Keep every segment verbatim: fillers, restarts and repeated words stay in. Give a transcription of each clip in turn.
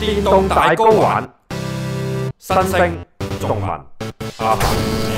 電動大 GO 玩，新星仲文阿凡。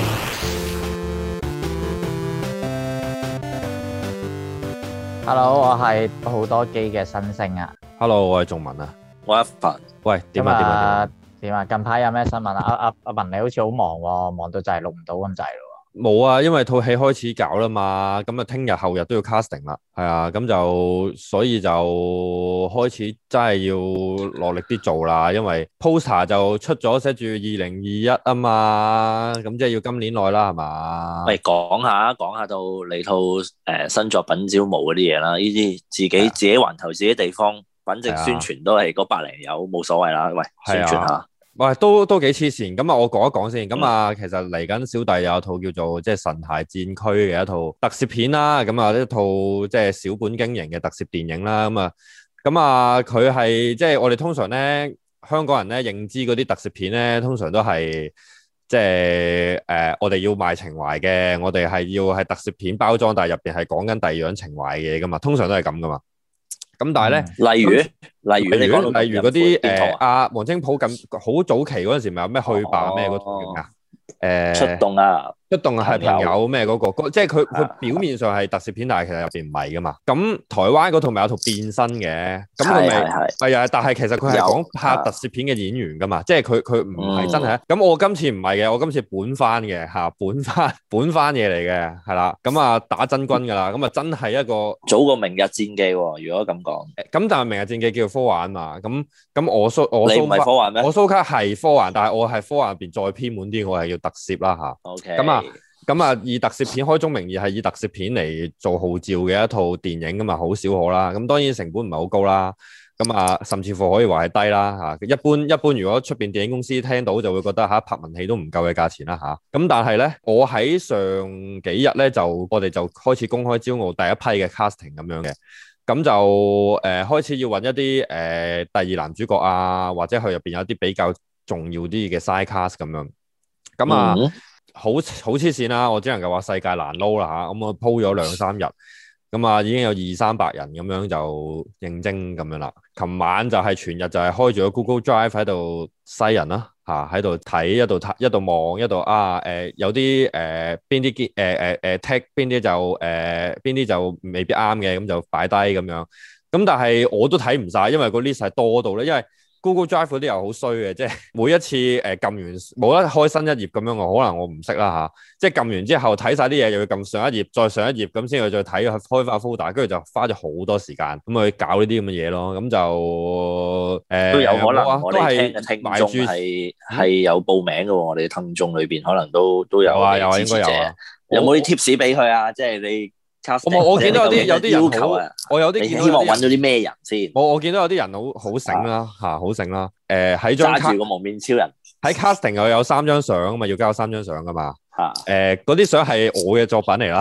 Hello， 我係好多機嘅新星啊。 Hello， 我係仲文啊。 我阿凡。 喂，點啊點啊點啊？近排有咩新聞啊？阿阿阿文你好似好忙喎，忙到就係錄唔到咁滯咯。 冇啊，因為套戲開始搞啦嘛，咁啊聽日後日都要 casting 啦，係啊，咁就所以就開始真係要落力啲做啦，因為 poster 就出咗寫住二零二一啊嘛，咁即係要今年內啦，係嘛？ 喂，講下講下到你套誒、呃、新作品招募嗰啲嘢啦，呢啲自己、啊、自己環頭自己地方，反正宣傳都係嗰百零友，冇所謂啦。喂，宣傳下。 喂，都都幾黐線，咁啊，我講一講先。咁啊，其實嚟緊小弟有一套叫做即係《神骸戰區》嘅一套特攝片啦，咁啊一套即係小本經營嘅特攝電影啦，咁啊，咁啊佢係即係我哋通常咧香港人咧認知嗰啲特攝片咧，通常都係即係誒、呃、我哋要賣情懷嘅，我哋係要係特攝片包裝，但係入邊係講緊第二樣情懷嘅嘢噶嘛，通常都係咁噶嘛。咁但係咧、嗯， 例如例如例如例如嗰啲誒阿黃精甫咁好早期嗰陣時，咪有咩去吧咩嗰套叫咩啊？誒出動啊！ 出動啊，係朋友咩嗰個？即係佢佢表面上係特攝片，但係其實入邊唔係噶嘛。咁台灣嗰套咪有套變身嘅，咁佢咪係啊？但係其實佢係講拍特攝片嘅演員噶嘛，即係佢佢唔係真係。咁、嗯、我今次唔係嘅，我今次本翻嘅嚇，本翻本翻嘢嚟嘅，係啦。咁啊打真軍㗎啦，咁啊真係一個早過明日戰記喎。如果咁講，咁但係明日戰記叫做科幻嘛。咁咁我蘇我蘇你唔係科幻咩？ 我蘇卡係科幻，但係我係科幻入邊再偏門啲，我係要特攝啦嚇。 OK。 咁啊。咁啊，以特攝片開宗明義係以特攝片嚟做號召嘅一套電影咁啊，好少可啦。咁當然成本唔係好高啦。咁啊，甚至乎可以話係低啦嚇。一般一般，如果出邊電影公司聽到就會覺得嚇拍文戲都唔夠嘅價錢啦嚇。咁但係咧，我喺上幾日咧就我哋就開始公開招募第一批嘅 casting 咁樣嘅。咁就誒、呃、開始要揾一啲誒、呃、第二男主角啊，或者佢入邊有啲比較重要啲嘅 side cast 咁樣。咁啊。嗯好好黐線啦！我只能夠話世界難撈啦嚇，咁我鋪咗兩三日，咁啊已經有二三百人咁樣就應徵咁樣啦。琴晚就係全日就係開住個 Google Drive 喺度篩人啦嚇，喺度睇一度睇一度望一度啊誒、呃、有啲誒邊啲誒誒誒 tag 邊啲就誒邊啲就未必啱嘅，咁就擺低咁樣。咁但係我都睇唔晒，因為個 list 係多到咧，因為Google Drive 嗰啲又好衰嘅，即係每一次誒撳完冇得開新一頁咁樣，我可能我唔識啦嚇，即係撳完之後睇晒啲嘢，又要撳上一頁，再上一頁咁先去再睇開翻 folder，跟住就花咗好多時間咁去搞呢啲咁嘅嘢咯，咁就誒、呃、 都有可能， 啊、 我哋聽嘅聽眾係係有報名嘅喎，我哋聽眾裏邊可能都都有啊有啊應該有啊， 有冇啲 tips 俾佢啊？即係你。 我我見到有啲有啲人好，我有啲希望揾到啲咩人先。 我我見到有啲人好好醒啦嚇，好醒啦。誒喺張揸住個蒙面超人喺 casting 又有三張相啊嘛，要交三張相噶嘛。 嚇誒嗰啲相係我嘅作品嚟啦。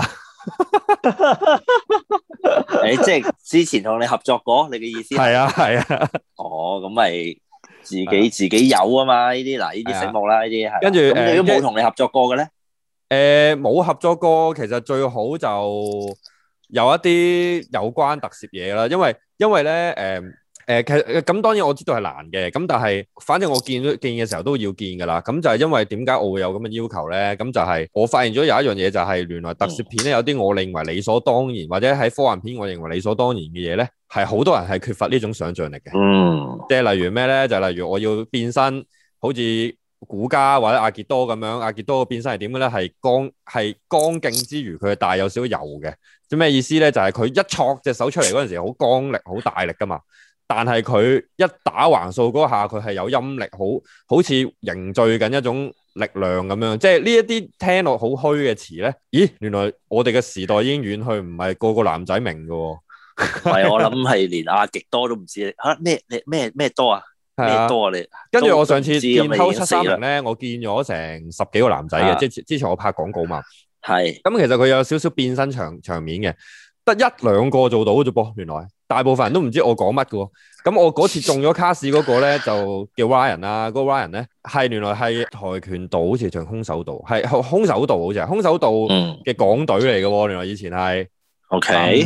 誒即係之前同你合作過，你嘅意思係啊係啊。 哦，咁咪自己自己有啊嘛？呢啲嗱，呢啲醒目啦，呢啲係。跟住誒，都冇同你合作過嘅咧。 誒冇、呃、合作過，其實最好就有一啲有關特攝嘢啦，因為因為咧誒誒其實咁當然我知道係難嘅，咁但係反正我見見嘅時候都要見㗎啦，咁就係因為點解我會有咁嘅要求咧？咁就係我發現咗有一樣嘢就係原來特攝片咧有啲我認為理所當然，或者喺科幻片我認為理所當然嘅嘢咧，係好多人係缺乏呢種想像力嘅。 嗯， 即係例如咩咧？就係例如我要變身，好似古家或者阿傑多咁樣，阿傑多嘅變身係點嘅咧？係剛係剛勁之餘，佢係帶有少少柔嘅。即咩意思咧？就係、是、佢一戳隻手出嚟嗰陣時，好剛力、好大力噶嘛。但係佢一打橫掃嗰下，佢係有陰力，好好似凝聚緊一種力量咁樣。即係呢一啲聽落好虛嘅詞咧，咦？原來我哋嘅時代已經遠去，唔係個個男仔明㗎喎。 係我諗係連阿傑多都唔知嚇咩？你咩咩多啊？咩多啊你？ 跟住我上次見偷七三零咧，我見咗成十幾個男仔嘅，即係之前我拍廣告嘛。係。咁其實佢有少少變身場場面嘅，得一兩個做到啫噃。原來大部分人都唔知我講乜嘅喎。咁我嗰次中咗卡士嗰個咧，就叫 Ryan 啦。嗰個 Ryan 咧係原來係跆拳道，好似仲空手道，係空手道好似係空手道嘅港隊嚟嘅喎。原來以前係。 OK。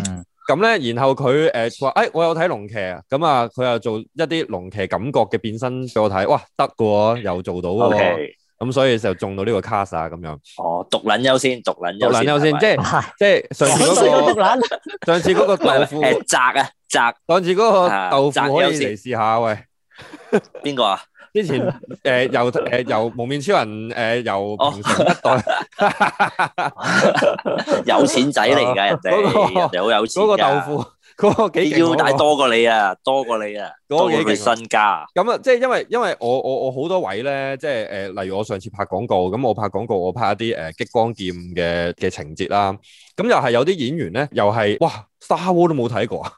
咁咧，然後佢誒話誒，我有睇龍騎啊，咁啊，佢又做一啲龍騎感覺嘅變身俾我睇，哇，得嘅喎，又做到嘅喎。 Okay. 咁所以就中到呢個 cast 啊，咁樣。 哦，獨撚優先，獨撚獨撚優先，即係即係上次嗰個上次嗰個豆腐誒摘啊摘， 上次嗰個豆腐可以嚟試下喂。 邊個啊？ 之前誒由誒由蒙面超人誒由平成一代有錢仔嚟㗎，人哋人哋好有錢㗎。 嗰個豆腐。嗰個幾勁， 腰帶多過你啊，多過你啊，多過佢身家。 咁啊，即係因為因為我我我好多位咧，即係誒、呃，例如我上次拍廣告，咁我拍廣告，我拍一啲誒、呃、激光劍嘅嘅情節啦。咁又係有啲演員咧，又係哇 Star Wars 都冇睇過啊。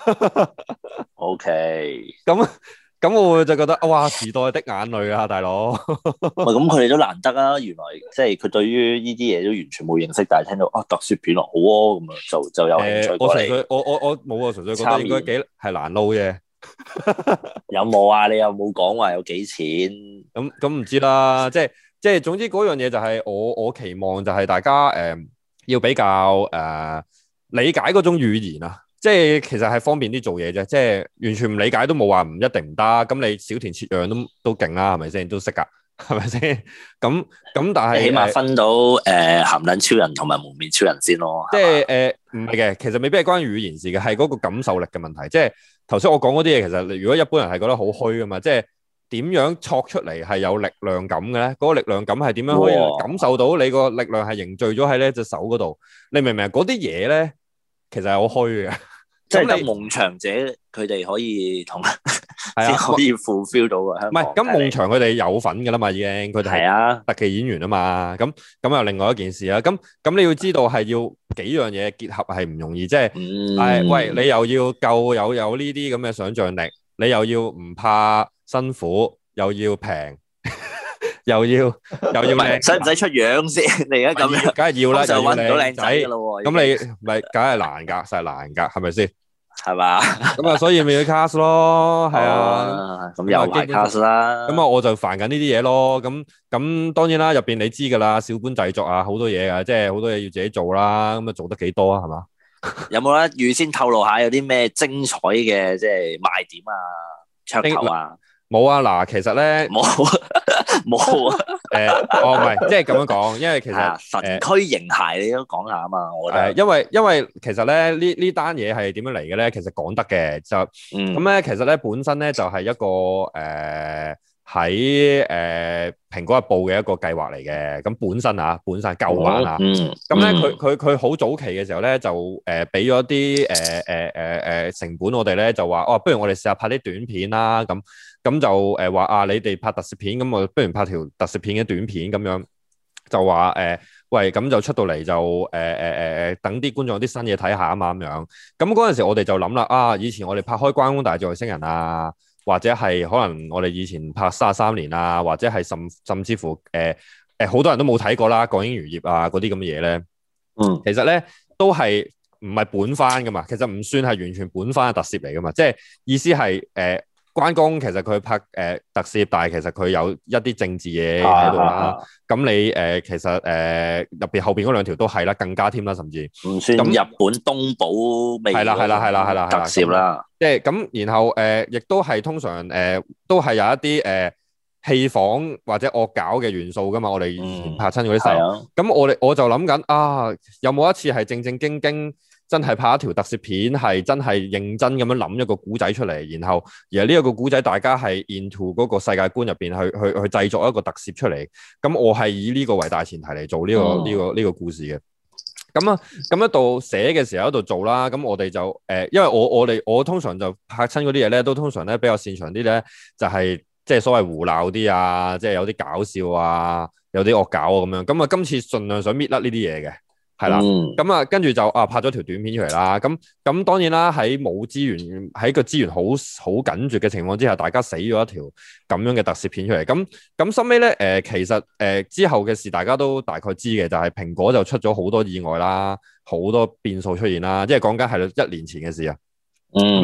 O K， 咁。咁我就覺得哇，時代的眼淚啊，大佬！ 咁佢哋都難得啊，原來即係佢對於呢啲嘢都完全冇認識，但係聽到啊特攝片咯，好啊，咁啊就就有興趣過嚟。 我純粹我我我冇啊，純粹覺得應該幾係難撈啫。 有冇啊？你又冇講話有幾錢？ 咁咁唔知啦，即係即係總之嗰樣嘢就係我我期望就係大家誒、呃、要比較誒、呃、理解嗰種語言啊。即係其實係方便啲做嘢啫，即係完全唔理解都冇話唔一定唔得。咁你小田切讓都都勁啦，係咪先？都識㗎，係咪先？咁咁但係起碼分到誒鹹撚超人同埋蒙面超人先咯。 即係誒唔係嘅，其實未必係關語言事嘅，係嗰個感受力嘅問題。即係頭先我講嗰啲嘢，其實如果一般人係覺得好虛㗎嘛，即係點樣戳出嚟係有力量感嘅咧？嗰、嗰個力量感係點樣可以感受到你個力量係凝聚咗喺呢隻手嗰度？你明唔明？嗰啲嘢咧其實係好虛嘅。 即係得夢場者佢哋可以同先可以 fulfill 到嘅。 唔係咁夢場佢哋有份㗎啦嘛，已經佢哋係特技演員啊嘛。咁咁又另外一件事啦。咁咁你要知道係要幾樣嘢結合係唔容易，即係係喂你又要夠有有呢啲咁嘅想像力，你又要唔怕辛苦，又要平，又要又要靚， 使唔使出樣先？你而家咁樣， 梗係要啦， 就揾唔到靚仔㗎啦喎。咁你咪梗係難㗎，實係難㗎，係咪先？ 係嘛？ 咁啊，所以咪要 cast 咯，係啊， 咁又埋 cast 啦。 咁啊，我就煩緊呢啲嘢咯。咁咁當然啦，入邊你知噶啦，小本製作啊，好多嘢啊，即係好多嘢要自己做啦。咁啊，做得幾多啊？係嘛？ 有冇咧？預先透露下有啲咩精彩嘅即係賣點啊、噱頭啊？ 冇啊！嗱，其實咧冇冇啊！ 誒，哦，唔係，即係咁樣講，因為其實神區形骸你都講下啊嘛，我覺得。 因為因為其實咧呢呢單嘢係點樣嚟嘅咧？其實講得嘅就咁咧，其實咧本身咧就係一個誒喺誒蘋果日報嘅一個計劃嚟嘅。咁本身啊，本身舊版啊，咁咧佢佢佢好早期嘅時候咧就誒俾咗啲誒誒誒誒成本我哋咧就話哦，不如我哋試下拍啲短片啦咁。咁就誒話啊，你哋拍特攝片，咁我不如拍條特攝片嘅短片咁樣，就話誒、呃，喂，咁就出到嚟就誒誒誒誒，等啲觀眾有啲新嘢睇下啊嘛咁樣。咁嗰陣時我哋就諗啦，啊，以前我哋拍開關公大戰外星人啊，或者係可能我哋以前拍三十三年啊，或者係甚甚至乎誒誒好多人都冇睇過啦，港英餘孽啊嗰啲咁嘅嘢咧，嗯，其實咧都係唔係本番噶嘛，其實唔算係完全本番嘅特攝嚟噶嘛，即係意思係誒。呃關公其實佢拍誒、呃、特攝，但係其實佢有一啲政治嘢喺度啦。咁、啊、你誒、呃、其實誒入邊後邊嗰兩條都係啦，更加添啦，甚至唔算日本東寶味係啦係啦係啦係啦特攝啦。即係咁，然後誒、呃、亦都係通常誒、呃、都係有一啲誒戲仿或者惡搞嘅元素噶嘛。我哋以前拍親嗰啲時候，咁、嗯、我哋我就諗緊啊，有冇一次係正正經經？真係拍一條特攝片，係真係認真咁樣諗一個古仔出嚟，然後而呢一個古仔大家係 into 嗰個世界觀入邊去去去製作一個特攝出嚟。咁我係以呢個為大前提嚟做呢、呢個呢、嗯呢個呢、呢個故事嘅。咁啊，咁一度寫嘅時候喺度做啦。咁我哋就誒、呃，因為我我哋我通常就拍親嗰啲嘢咧，都通常咧比較擅長啲咧，就係即係所謂胡鬧啲啊，即係有啲搞笑啊，有啲惡搞啊咁樣。咁啊，今次盡量想搣甩呢啲嘢嘅。係啦，咁啊、嗯，跟住就啊拍咗條短片出嚟啦。咁咁當然啦，喺冇資源，喺個資源好好緊絀嘅情況之下，大家死咗一條咁樣嘅特攝片出嚟。咁咁收尾咧，誒、呃、其實誒、呃、之後嘅事大家都大概知嘅，就係、是、蘋果就出咗好多意外啦，好多變數出現啦。即係講緊係一年前嘅事啊。咁啊、嗯，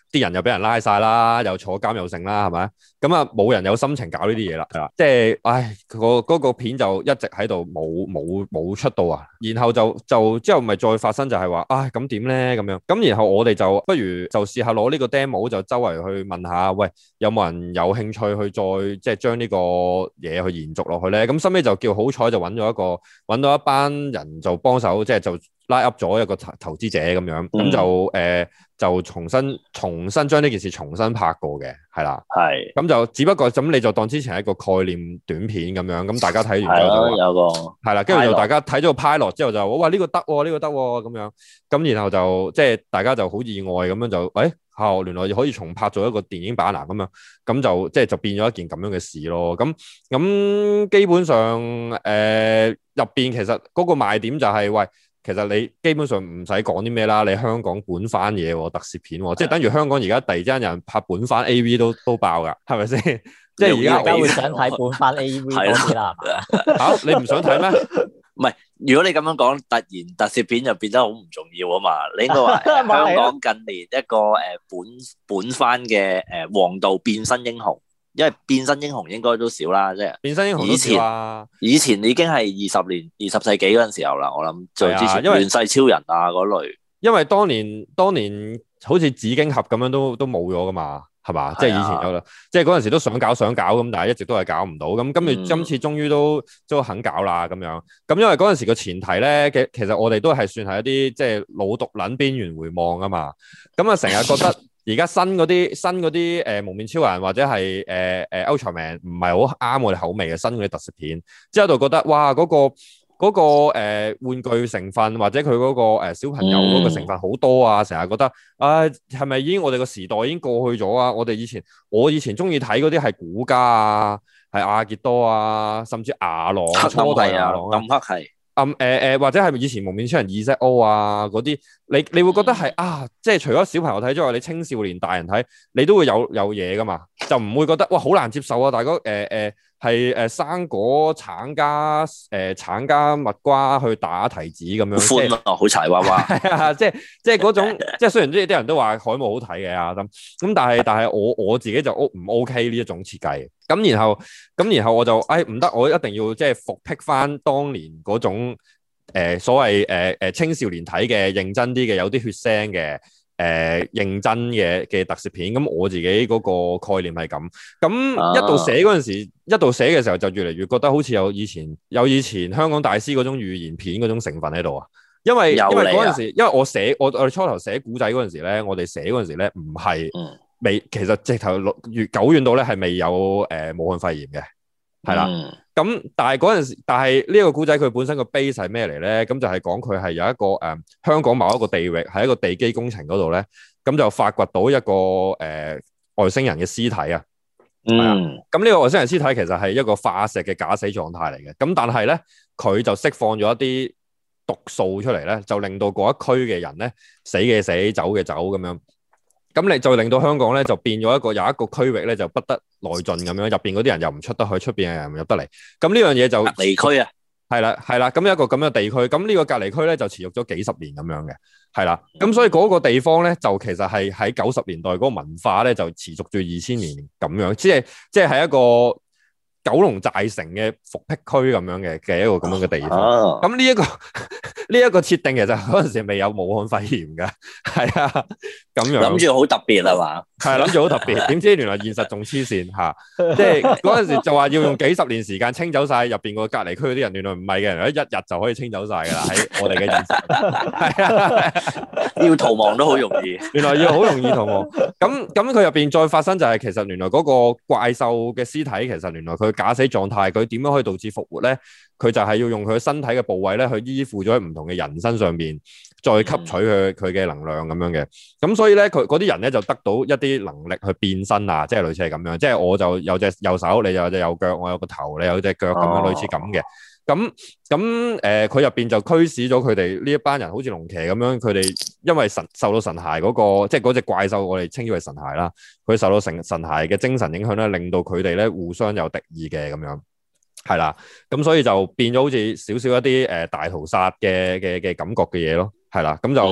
啲人又俾人拉晒啦，又坐監又剩啦，係咪？咁啊冇人有心情搞呢啲嘢啦，係啦，即係唉，嗰個嗰個片就一直喺度冇冇冇出到啊，然後就就之後咪再發生就係話，唉咁點咧咁樣，咁然後我哋就不如就試下攞呢個 demo 就周圍去問下，喂有冇人有興趣去再即係將呢個嘢去延續落去咧？咁收尾就叫好彩就揾咗一個揾到一班人就幫手，即係就拉 up 咗一個投投資者咁樣，咁、嗯、就誒、呃、就重新重新將呢件事重新拍過嘅，係啦，係，咁就只不過咁你就當之前係一個概念短片咁樣，咁大家睇完之後就有個係啦，跟住就大家睇咗個 pilot 之後就哇呢、呢個得喎，呢、呢個得喎咁樣，咁然後就即係大家就好意外咁樣就誒。哎哦，原來可以重拍做一個電影版啊，咁樣咁就即係就變咗一件咁樣嘅事咯。咁咁基本上誒入邊其實嗰個賣點就係、是、喂，其實你基本上唔使講啲咩啦，你香港本番嘢喎，特攝片喎，即係等於香港而家突然之間有人拍本番 A V 都都爆㗎，係咪先？即係而家而家會想睇本番 A V 多啲啦。 嚇你唔想睇咩？ 唔係，如果你咁樣講，突然特攝片就變得好唔重要啊嘛。你應該話香港近年一個誒本本番嘅誒王道變身英雄，因為變身英雄應該都少啦，即係變身英雄以前以前已經係二十年二十世紀嗰陣時候啦。我諗最之前亂世超人啊嗰類，因為當年當年好似紫荊俠咁樣都都冇咗噶嘛。係嘛？即係以前有啦，即係嗰陣時都想搞想搞咁，但係一直都係搞唔到。咁今日今次終於都都肯搞啦咁樣。咁因為嗰陣時個前提咧，嘅其實我哋都係算係一啲即係老毒撚邊緣回望啊嘛。咁啊成日覺得而家新嗰啲新嗰啲誒蒙面超人或者係誒誒 Ultraman 唔係好啱我哋口味嘅新嗰啲特攝片，之後就覺得哇嗰個。嗰、那個誒、呃、玩具成分或者佢嗰、那個、呃、小朋友嗰個成分好多啊，成日、嗯、覺得啊係咪已經我哋個時代已經過去咗啊？我哋以前我以前中意睇嗰啲係古家啊，係阿傑多啊，甚至牙狼、初代牙狼、暗黑係暗誒誒，或者係以前蒙面超人 Z O 啊嗰啲，你你會覺得係、嗯、啊，即係除咗小朋友睇之外，你青少年大人睇，你都會有有嘢噶嘛，就唔會覺得哇好難接受啊，大哥誒誒。呃呃係誒生果橙加誒、呃、橙加蜜瓜去打提子咁樣，歡啊，好柴娃娃，係啊，即係即係嗰種，即係雖然啲啲人都話海姆好睇嘅啊咁，咁但係但係我我自己就 O 唔 OK 呢一種設計，咁然後咁然後我就誒唔得，我一定要即係復辟翻當年嗰種誒、呃、所謂誒誒青少年睇嘅認真啲嘅有啲血腥嘅。誒、呃、認真嘅嘅特攝片，咁我自己嗰個概念係咁，咁一度寫嗰陣時，啊、一度寫嘅時候就越嚟越覺得好似有以前有以前香港大師嗰種預言片嗰種成分喺度啊，因為因為嗰陣時，因為我寫我我哋初頭寫古仔嗰陣時咧，我哋寫嗰陣時咧唔係未，其實直頭越久遠到咧係未有誒、呃、武漢肺炎嘅。係啦，咁、嗯、但係嗰陣時，但係呢個古仔佢本身個 base 係咩嚟咧？咁就係講佢係有一個誒、呃、香港某一個地域，喺一個地基工程嗰度咧，咁就發掘到一個誒、呃、外星人嘅屍體啊。嗯，咁呢個外星人屍體其實係一個化石嘅假死狀態嚟嘅。咁但係咧，佢就釋放咗一啲毒素出嚟咧，就令到嗰一區嘅人咧死嘅死，走嘅走咁樣。咁你就令到香港咧就變咗一個有一個區域咧就不得內進咁樣，入邊嗰啲人又唔出得去，出邊嘅人唔入得嚟。咁呢樣嘢就隔離區啊，係啦係啦。咁一個咁嘅地區，咁呢個隔離區咧就持續咗幾十年咁樣嘅，係啦。咁所以嗰個地方咧就其實係喺九十年代嗰個文化咧就持續住二千年咁樣，即係即係係一個九龍寨城嘅復辟區咁樣嘅嘅一個咁樣嘅地方。咁呢一個呢一個設定其實嗰陣時未有武漢肺炎㗎，係啊，咁樣諗住好特別係嘛？係諗住好特別，點知原來現實仲黐線嚇，即係嗰陣時就話要用幾十年時間清走晒入邊個隔離區嗰啲人，原來唔係嘅，原來一日就可以清走晒㗎啦，喺我哋嘅現實，係啊，要逃亡都好容易，原來要好容易逃亡。咁咁佢入邊再發生就係、是、其實原來嗰個怪獸嘅屍體其實原來佢假死狀態，佢點樣可以導致復活咧？佢就係要用佢身體嘅部位咧，去依附咗喺唔同嘅人身上邊，再吸取佢佢嘅能量咁樣嘅。咁所以咧，佢嗰啲人咧就得到一啲能力去變身啊，即係類似係咁樣。即係我就有隻右手，你有隻右腳，我有個頭，你有隻腳咁樣，類似咁嘅。咁咁誒，佢入邊就驅使咗佢哋呢一班人，好似龍騎咁樣。佢哋因為神受到神骸嗰個，即係嗰隻怪獸，我哋稱之為神骸啦。佢受到神神骸嘅精神影響咧，令到佢哋咧互相有敵意嘅咁樣。係啦，咁所以就變咗好似少少一啲誒大屠殺嘅嘅嘅感覺嘅嘢咯，係啦，咁就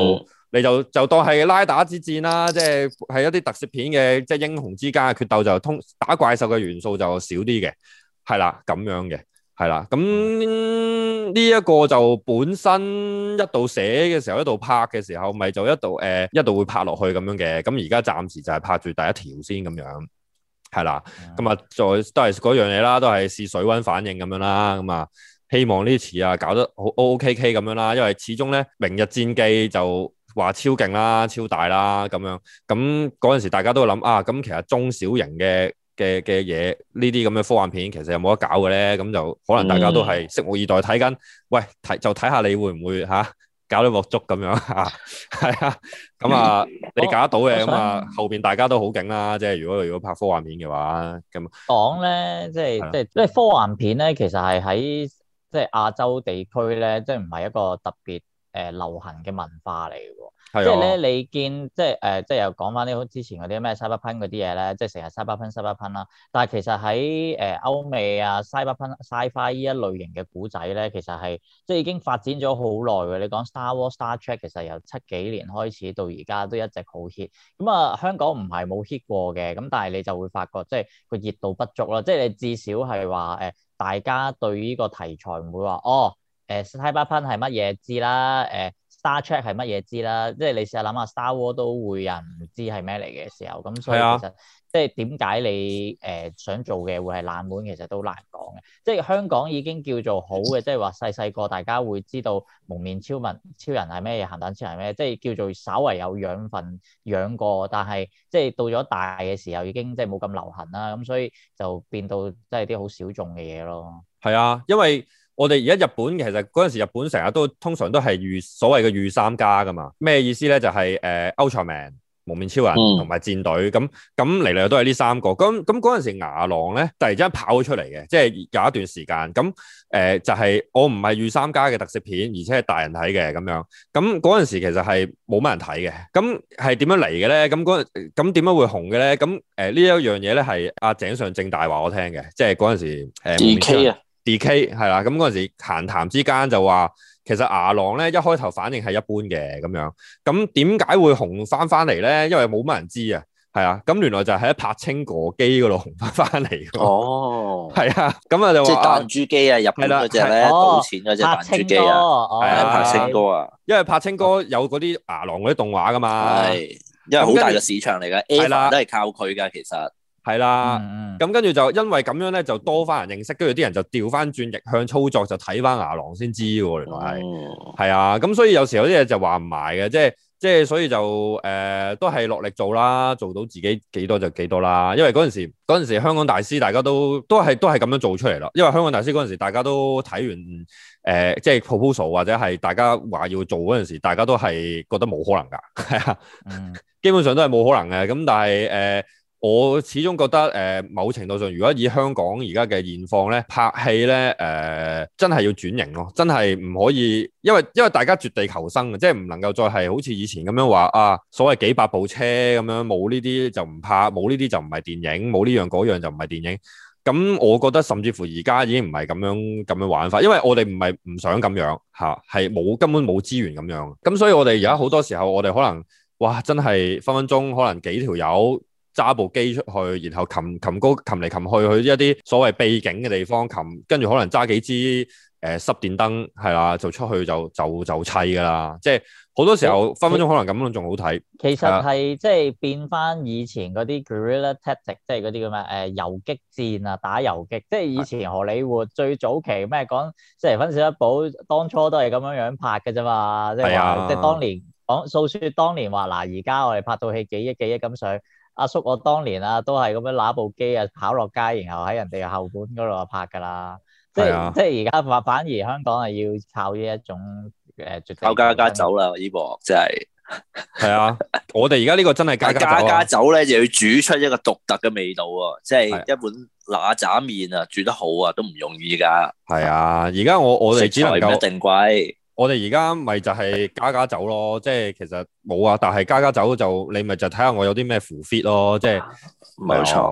你就就當係拉打之戰啦，即係係一啲特攝片嘅即係英雄之間嘅決鬥，就通打怪獸嘅元素就少啲嘅，係啦咁樣嘅，係啦。咁呢一個就本身一度寫嘅時候，一度拍嘅時候，咪就一度誒、呃、一度會拍落去咁樣嘅。咁而家暫時就係拍住第一條先咁樣，係啦。咁啊、嗯，再都係嗰樣嘢啦，都係試水溫反應咁樣啦。咁啊，希望呢次啊搞得好 O K K 咁樣啦，因為始終咧明日戰記就話超勁啦、超大啦咁樣。咁嗰陣時大家都諗啊，咁其實中小型嘅嘅嘅嘢，呢啲咁嘅科幻片其實有冇得搞嘅咧？咁就可能大家都係拭目以待睇緊。喂，睇就睇下你會唔會嚇、啊、搞到鑊粥咁樣嚇？係啊，咁啊你搞得到嘅咁啊，後邊大家都好勁啦。即係如果如果拍科幻片嘅話，咁講咧，即係即係即係科幻片咧，其實係喺即係亞洲地區咧，即係唔係一個特別誒、呃、流行嘅文化嚟嘅喎。即係咧，你見即係誒、呃，即係又講翻啲之前嗰啲咩 Cyberpunk 嗰啲嘢咧，即係成日 Cyberpunk Cyberpunk 啦。但係其實喺誒、呃、歐美啊 Cyberpunk Sci-Fi 呢一類型嘅古仔咧，其實係即係已經發展咗好耐嘅。你講 Star Wars、Star Trek 其實由七幾年開始到而家都一直好 hit。咁啊，香港唔係冇 hit 過嘅，咁但係你就會發覺即係個熱度不足啦。即係你至少係話誒，大家對呢個題材唔會話哦誒 Cyberpunk 係乜嘢知啦誒。呃 Star Trek 係乜嘢知啦？即係你試下諗下 Star War 都會有人唔知係咩嚟嘅時候，咁所以其實、啊、即係點解你誒、呃、想做嘅會係冷門，其實都難講嘅。即係香港已經叫做好嘅，即係話細細個大家會知道蒙面超人超人係咩嘢，鹹蛋超人係咩，即係叫做稍為有養分養過，但係即係到咗大嘅時候已經即係冇咁流行啦，咁所以就變到即係啲好小眾嘅嘢咯。 係啊，因為我哋而家日本其實嗰陣時日本成日都通常都係御所謂嘅御三家噶嘛，咩意思咧？就係誒 Ultraman、蒙面超人同埋戰隊咁咁嚟嚟都係呢三個。咁咁嗰陣時牙狼咧突然之間跑咗出嚟嘅，即係有一段時間咁誒就係、是、我唔係御三家嘅特攝片，而且係大人睇嘅咁樣。咁嗰陣時其實係冇乜人睇嘅。咁係點樣嚟嘅咧？咁嗰咁點樣會紅嘅咧？咁誒呢一樣嘢咧係阿井上正大話我聽嘅，即係嗰陣時誒。 D K 啊。 D K 係啦，咁嗰陣時閒談之間就話，其實牙狼咧一開頭反應係一般嘅咁樣，咁點解會紅翻翻嚟咧？因為冇乜人知啊，係啊，咁原來就係喺柏青哥機嗰度紅翻翻嚟。哦，係啊，咁啊就話即係彈珠機啊，入邊嗰隻咧賭錢嗰隻彈珠機啊，係啊，柏青哥啊，因為柏青哥有嗰啲牙狼嗰啲動畫噶嘛，係，因為好大嘅市場嚟噶 ，Ava 都係靠佢噶，其實。係啦，咁跟住就因為咁樣咧，就多翻人認識，跟住啲人就調翻轉逆向操作，就睇翻牙狼先知喎，原來係，係、哦、啊，咁所以有時有啲嘢就話唔埋嘅，即係即係所以就誒、呃、都係落力做啦，做到自己幾多就幾多啦，因為嗰陣時嗰陣時香港大師大家都都係都係咁樣做出嚟咯，因為香港大師嗰陣時大家都睇完誒、呃、即係 proposal 或者係大家話要做嗰陣時，大家都係覺得冇可能㗎，係啊，嗯、基本上都係冇可能嘅，咁但係誒。呃我始終覺得誒、呃，某程度上，如果以香港而家嘅現況咧，拍戲咧誒，真係要轉型咯，真係唔可以，因為因為大家絕地求生嘅，即係唔能夠再係好似以前咁樣話啊，所謂幾百部車咁樣，冇呢啲就唔拍，冇呢啲就唔係電影，冇呢樣嗰樣就唔係電影。咁我覺得甚至乎而家已經唔係咁樣咁樣玩法，因為我哋唔係唔想咁樣嚇，係冇根本冇資源咁樣。咁所以我哋而家好多時候，我哋可能哇，真係分分鐘可能幾條友。揸部機出去，然後擒擒高擒嚟擒去去一啲所謂秘境嘅地方擒，跟住可能揸幾支誒、呃、濕電燈係啦，就出去就就就砌㗎啦。即係好多時候分分鐘可能咁樣仲好睇。其實係即係變翻以前嗰啲 guerrilla tactic，即係嗰啲咁嘅誒遊擊戰啊，打遊擊。即係以前荷里活最早期咩講，即係分少一寶當初都係咁樣樣拍嘅啫嘛。即係話即係當年講訴説當年話嗱，而家我哋拍套戲幾億幾億咁上。阿叔，我當年啊，都係咁樣拿部機啊，跑落街，然後喺人哋嘅後館嗰度拍㗎啦。即係、啊、即係而家反反而香港係要靠呢一種誒絕地靠家家酒啦，呢部真係係啊！我哋而家呢個真係家家酒啊！家家酒咧就要煮出一個獨特嘅味道喎，即係一碗嗱喳麵啊，煮得好啊，都唔容易㗎。係啊！而家我我哋只能夠一定貴。我哋而家咪就係加加酒咯，即係其實冇啊，但係加加酒就你咪就睇下我有啲咩符 fit 咯，即係冇錯。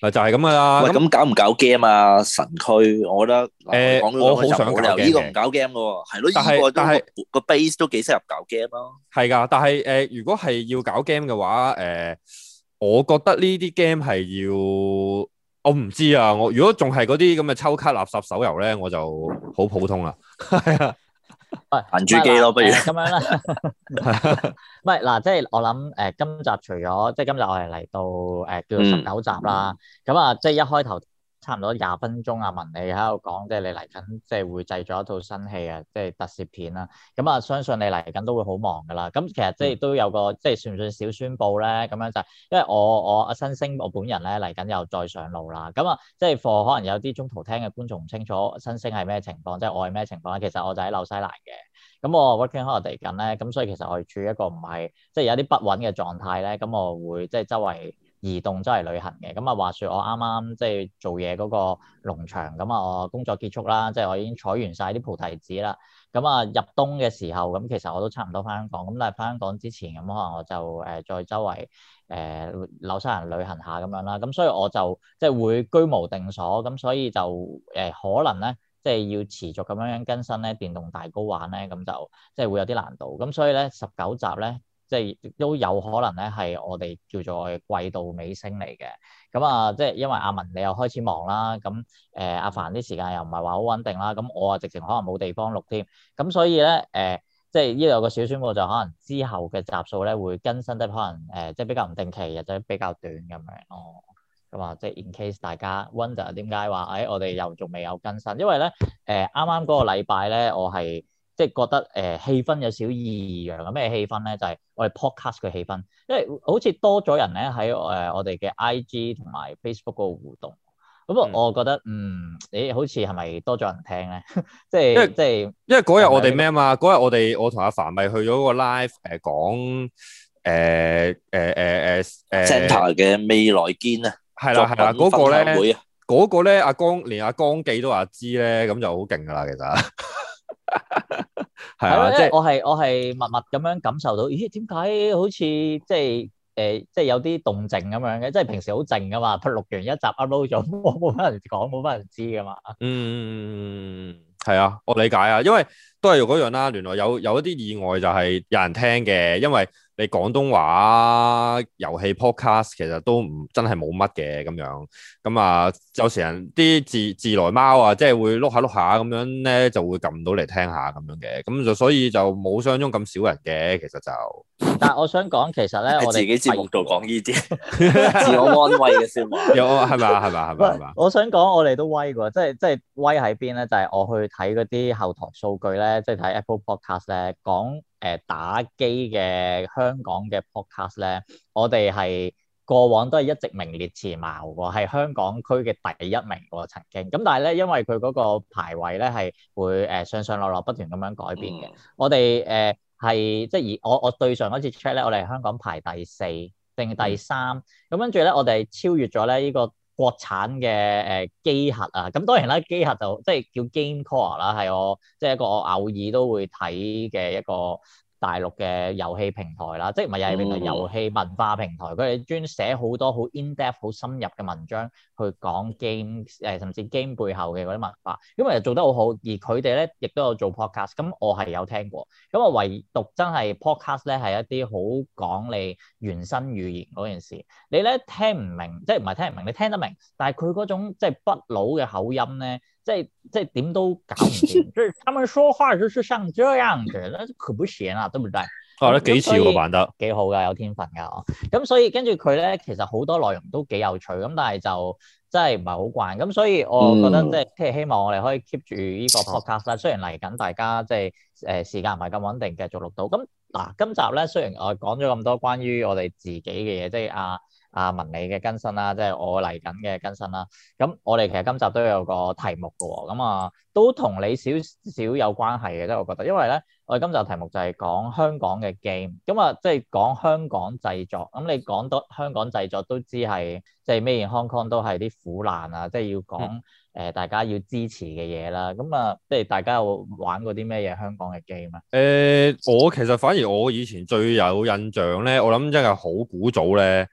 嗱就係咁噶啦。 喂，咁搞唔搞 game 啊？神區，我覺得誒，我好想搞 game 呢個唔搞 game 嘅喎，係咯， 但係但係個 base 都幾適合搞 game 咯。 係㗎，但係誒，如果係要搞 game 嘅話，誒，我覺得呢啲 game 係要，我唔知啊。我如果仲係嗰啲咁嘅抽卡垃圾手遊咧，我就好普通啦。係啊。 喂， 彈珠機咯，不如咁樣啦。唔係嗱，即係我諗誒、呃，今集除咗即係今日我哋嚟到誒、呃、叫做十九集啦，咁啊、嗯，即係一開頭差唔多廿分鐘啊，文你喺度講，即係你嚟緊即係會製作一套新戲啊，即係特攝片啦。咁啊，相信你嚟緊都會好忙噶啦。咁其實即係都有個即係算唔算小宣佈咧？咁樣就係因為我我阿新星我本人咧嚟緊又再上路啦。咁啊，即係課可能有啲中途聽嘅觀眾唔清楚新星係咩情況，即係我係咩情況咧？其實我就喺紐西蘭嘅。咁我 working holiday 緊咧，咁所以其實我係處於一個唔係即係有啲不穩嘅狀態咧。咁我會即係周圍移動周圍旅行嘅。咁啊話説我啱啱即係做嘢嗰個農場，咁啊我工作結束啦，即係我已經採完晒啲菩提子啦。咁啊入冬嘅時候，咁其實我都差唔多翻香港。咁但係翻香港之前，咁可能我就誒、呃、再周圍誒紐西蘭旅行下咁樣啦。咁所以我就即係會居無定所，咁所以就誒、呃、可能咧。即係要持續咁樣樣更新咧，電動大 GO 玩咧，咁就即係會有啲難度。咁所以咧，十九集咧，即係都有可能咧係我哋叫做季度尾聲嚟嘅。咁啊，即係因為阿文你又開始忙啦，咁誒、呃、阿凡啲時間又唔係話好穩定啦，咁我啊直情可能冇地方錄添。咁所以咧誒、呃，即係呢度有個小宣佈，就可能之後嘅集數咧會更新得可能誒、呃，即係比較唔定期或者比較短咁樣咯。咁啊，即係 in case 大家 wonder 點解話，誒、哎、我哋又仲未有更新，因為咧誒啱啱嗰個禮拜咧，我係即係覺得誒、呃、氣氛有少異樣。咩氣氛咧？就係、是、我哋 podcast 嘅氣氛，因為好似多咗人咧喺誒我哋嘅 I G 同埋 Facebook 嗰個互動。咁啊，我覺得嗯，誒、嗯、好似係咪多咗人聽咧？即係即係， 因為嗰日我哋咩啊嘛？嗰日我哋我同阿凡咪去咗個 live 誒、呃、講誒誒誒誒誒 Centre 嘅未來堅啊！ 係啦係啦，嗰個咧，嗰個咧，阿江連阿江記都話知咧，咁就好勁噶啦，其實係啊，即係我係我係默默咁樣感受到，咦？點解好似即係誒，即係有啲動靜咁樣嘅？即係平時好靜噶嘛，錄完一集 upload 咗，冇冇乜人講，冇乜人知噶嘛。 嗯，係啊，我理解啊，因為都係嗰樣啦。原來有有一啲意外就係有人聽嘅，因為。你廣東話遊戲 podcast 其實都唔真係冇乜嘅咁樣，咁啊有時人啲自自來貓啊，即係會碌下碌下咁樣咧，就會撳到嚟聽下咁樣嘅，咁就所以就冇想像中咁少人嘅，其實就。但係我想講，其實咧，我哋自己節目度講呢啲自我安慰嘅説話，有係咪啊？係咪啊？係咪係咪？我想講，我哋都威㗎，即係即係威喺邊咧？就係、是、我去睇嗰啲後台數據咧，即係睇 Apple Podcast 咧，講誒打機嘅香港嘅 Podcast 咧，我哋係過往都係一直名列前茅喎，係香港區嘅第一名喎曾經。咁但係咧，因為佢嗰個排位咧係會誒上上落落不斷咁樣改變嘅，嗯、我哋誒。呃係即係而我我對上嗰次 check 咧，我哋係香港排第四定第三，咁、嗯、跟住咧我哋超越咗咧呢個國產嘅誒機核啊，咁當然啦，機核就即係叫 GameCore 啦，係我即係一個我偶爾都會睇嘅一個大陸嘅遊戲平台啦，即係唔係遊戲平台，嗯、遊戲文化平台，佢哋專寫好多好 in-depth 好深入嘅文章去講 game 誒，甚至 game 背後嘅嗰啲文化，因為做得好好，而佢哋咧亦都有做 podcast，咁我係有聽過，咁我唯獨真係 podcast 咧係一啲好講你原生語言嗰件事，你咧聽唔明，即係唔係聽唔明，你聽得明，但係佢嗰種即係北佬嘅口音咧。即係即係點都搞唔掂，即係他們說話就是像這樣嘅，那可不行啊，對唔對？ 哦，得幾次喎，扮得幾好㗎，有天分㗎。咁所以跟住佢咧，其實好多內容都幾有趣，咁但係就真係唔係好慣。咁所以我覺得即係即係希望我哋可以 keep 住呢個 podcast 啦。雖然嚟緊大家即係誒時間唔係咁穩定，繼續錄到。咁嗱，今集咧雖然我講咗咁多關於我哋自己嘅嘢，即係啊。阿文你嘅更新啦，即係我嚟緊嘅更新啦。咁我哋其實今集都有個題目嘅喎，咁啊都同你少少有關係嘅，即係我覺得，因為咧我哋今集題目就係講香港嘅 game，咁啊即係講香港製作。咁你講到香港製作都知係即係 Made in Hong Kong 都係啲苦難啊，即係要講誒、嗯呃、大家要支持嘅嘢啦。咁啊即係大家有玩過啲咩嘢香港嘅 game 啊？ 誒、呃，我其實反而我以前最有印象咧，我諗真係好古早咧。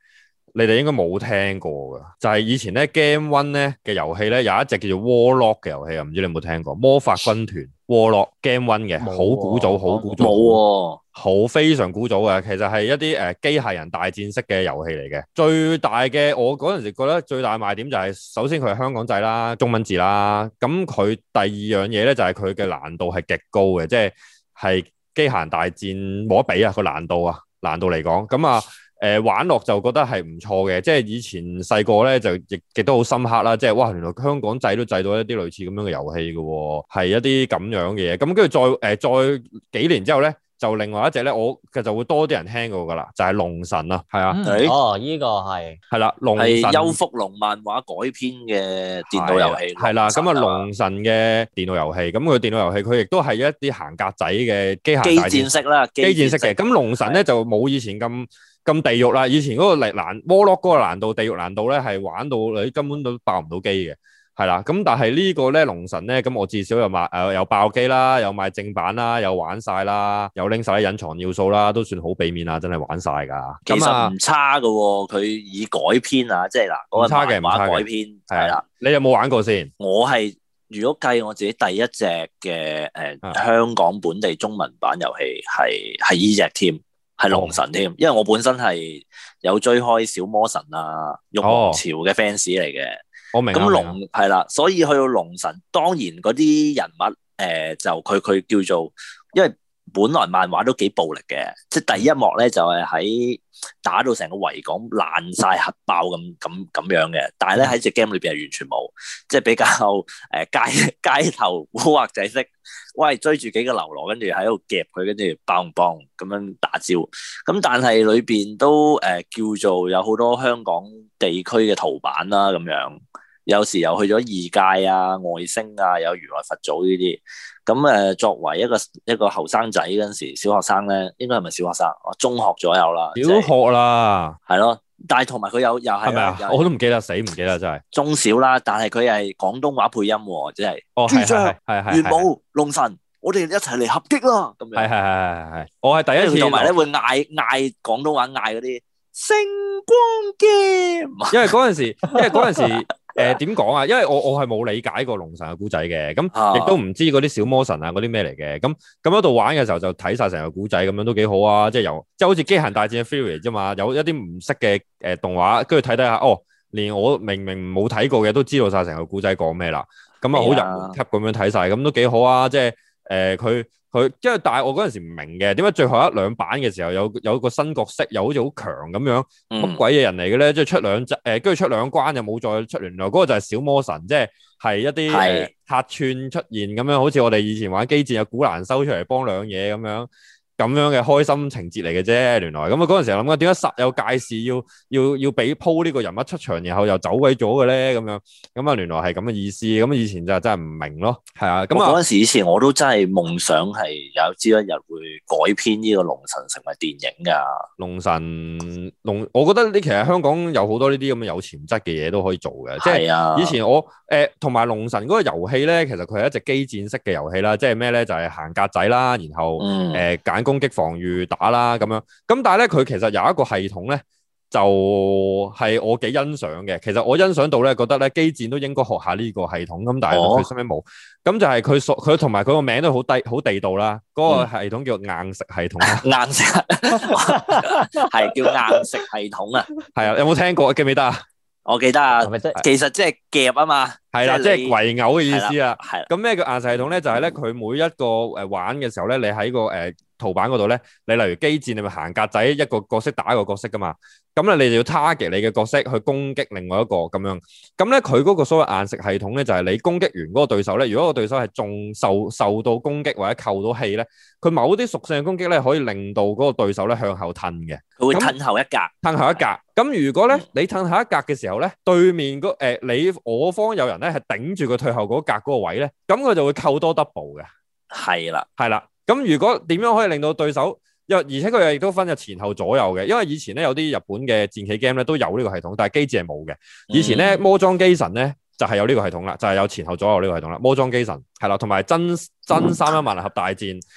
你哋應該冇聽過㗎，就係、是、以前咧 Game One 咧嘅遊戲咧有一隻叫做 Warlock 嘅遊戲啊，唔知你有冇聽過？魔法軍團 Warlock Game One 嘅，好古早，好古早， 冇好非常古早嘅，其實係一啲誒機械人大戰式嘅遊戲嚟嘅。最大嘅我嗰陣時覺得最大賣點就係、是，首先佢係香港製啦，中文字啦，咁佢第二樣嘢咧就係佢嘅難度係極高嘅，即係係機械人大戰冇得比啊個難度啊難度嚟講，咁啊誒玩落就覺得係唔錯嘅，即係以前細個咧就亦亦都好深刻啦，即係哇原來香港製都製到一啲類似咁樣嘅遊戲嘅喎，係一啲咁樣嘅嘢，咁跟住再誒、呃、再幾年之後咧。就另外一隻咧，我其實就會多啲人聽過噶啦，就係、是、龍神啊，係啊， 嗯、哦，依、這個係係啦，龍神係邱福龍漫畫改編嘅電腦遊戲， 係啦，咁啊龍神嘅電腦遊戲，咁佢電腦遊戲佢亦都係一啲行格仔嘅機械大戰機戰式啦， 機戰式嘅，咁龍神咧就冇以前咁咁地獄啦，以前嗰個力難 Warlock 嗰個難度地獄難度咧係玩到你根本都爆唔到機嘅。係啦，咁但係呢個咧龍神咧，咁我至少有買誒有爆機啦，有買正版啦，有玩晒啦，有拎晒啲隱藏要素啦，都算好俾面啦，真係玩晒噶。 其實唔差噶，佢以改編啊，即係嗱，嗰個漫畫改編係啦。 你有冇玩過先？ 我係如果計我自己第一隻嘅誒香港本地中文版遊戲係係呢隻添，係龍神添，因為我本身係有追開小魔神啊、玉皇朝嘅 fans 嚟嘅。 我明， 咁龍係啦，所以去到龍神，當然嗰啲人物誒、呃、就佢佢叫做，因為本來漫畫都幾暴力嘅，即係第一幕咧就係、是、喺打到成個維港爛晒核爆咁咁咁樣嘅，但係咧喺隻 game 裏邊係完全冇，即係比較誒、呃、街街頭古惑仔式，喂追住幾個流羅，跟住喺度夾佢，跟住邦邦咁樣打招，咁但係裏邊都誒、呃、叫做有好多香港地區嘅圖版啦咁樣。有時又去咗異界啊、外星啊，有如來佛祖呢啲。咁誒，作為一個一個後生仔嗰陣時，小學生咧，應該係咪小學生？我中學左右啦。 小學啦， 係咯。但係同埋佢有又係，係咪啊？ 我都唔記得，死唔記得真係。 中小啦，但係佢係廣東話配音喎，即係。 哦，係係係係。 元武龍神，我哋一齊嚟合擊啦！咁樣。係係係係係。我係第一次。 同埋咧會嗌嗌廣東話嗌嗰啲星光劍。因為嗰陣時，因為嗰陣時。誒點講啊？因為我我係冇理解過龍神嘅古仔嘅，咁亦都唔知嗰啲小魔神啊嗰啲咩嚟嘅，咁咁喺度玩嘅時候就睇晒成個古仔，咁樣都幾好啊！即係由即係好似機械大戰嘅 Fury 啫嘛，有一啲唔識嘅誒動畫，跟住睇睇下，哦，連我明明冇睇過嘅都知道晒成個古仔講咩啦，咁啊好入門級咁樣睇晒，咁都幾好啊！即係誒佢。佢，因為但係我嗰陣時唔明嘅，點解最後一兩版嘅時候有有個新角色，又好似好強咁樣，乜鬼嘢人嚟嘅咧？即係出兩集，誒、呃，跟住出兩關又冇再出，原來嗰個就係小魔神，即係係一啲誒客串出現咁樣，好似我哋以前玩機戰有古蘭修出嚟幫兩嘢咁樣。咁樣嘅開心情節嚟嘅啫，原來咁啊嗰陣時諗緊點解實有介紹要要要俾鋪呢個人物出場，然後又走鬼咗嘅咧咁樣，咁啊原來係咁嘅意思，咁以前就真係唔明咯，係啊，咁啊嗰陣時以前我都真係夢想係有朝一日會改編呢個龍神成為電影㗎。龍神龍，我覺得呢其實香港有好多呢啲咁嘅有潛質嘅嘢都可以做嘅，即係、 啊、 以前我誒同埋龍神嗰個遊戲咧，其實佢係一隻機戰式嘅遊戲啦，即係咩咧就係、是、行格仔啦，然後誒揀、嗯呃攻擊防禦打啦咁樣，咁但係咧佢其實有一個系統咧，就係、是、我幾欣賞嘅。其實我欣賞到咧，覺得咧機戰都應該學下呢個系統，咁但係佢身邊冇。咁、哦、就係佢所佢同埋佢個名都好低好地道啦。嗰、那個系統叫硬食系統啊， 硬食係叫硬食系統啊。 係啊，有冇聽過？記唔記得啊？ 我記得啊，其實即係夾啊嘛， 係啦，即係圍毆嘅意思啊。 係咁咩叫硬食系統咧？就係咧佢每一個誒玩嘅時候咧，你喺個誒。呃圖版嗰度咧，你例如機戰，你咪行格仔，一個角色打一個角色噶嘛。咁咧，你就要 target 你嘅角色去攻擊另外一個咁樣。咁咧，佢嗰個所謂硬食系統咧，就係、是、你攻擊完嗰個對手咧，如果個對手係中受受到攻擊或者扣到氣咧，佢某啲屬性嘅攻擊咧，可以令到嗰個對手咧向後褪嘅。 佢會褪後一格， 褪後一格。咁如果咧你褪後一格嘅時候咧，對面嗰、呃、你我方有人咧係頂住佢退後嗰格嗰個位咧，咁佢就會扣多 double 嘅。 係啦， 係啦。咁如果點樣可以令到對手又而且佢又亦都分咗前後左右嘅，因為以前咧有啲日本嘅戰棋 game 咧都有呢個系統，但係機戰係冇嘅。以前咧魔裝機神咧就係、是、有呢個系統啦，就係、是、有前後左右呢個系統啦。魔裝機神係啦，同埋真真三一萬能俠大戰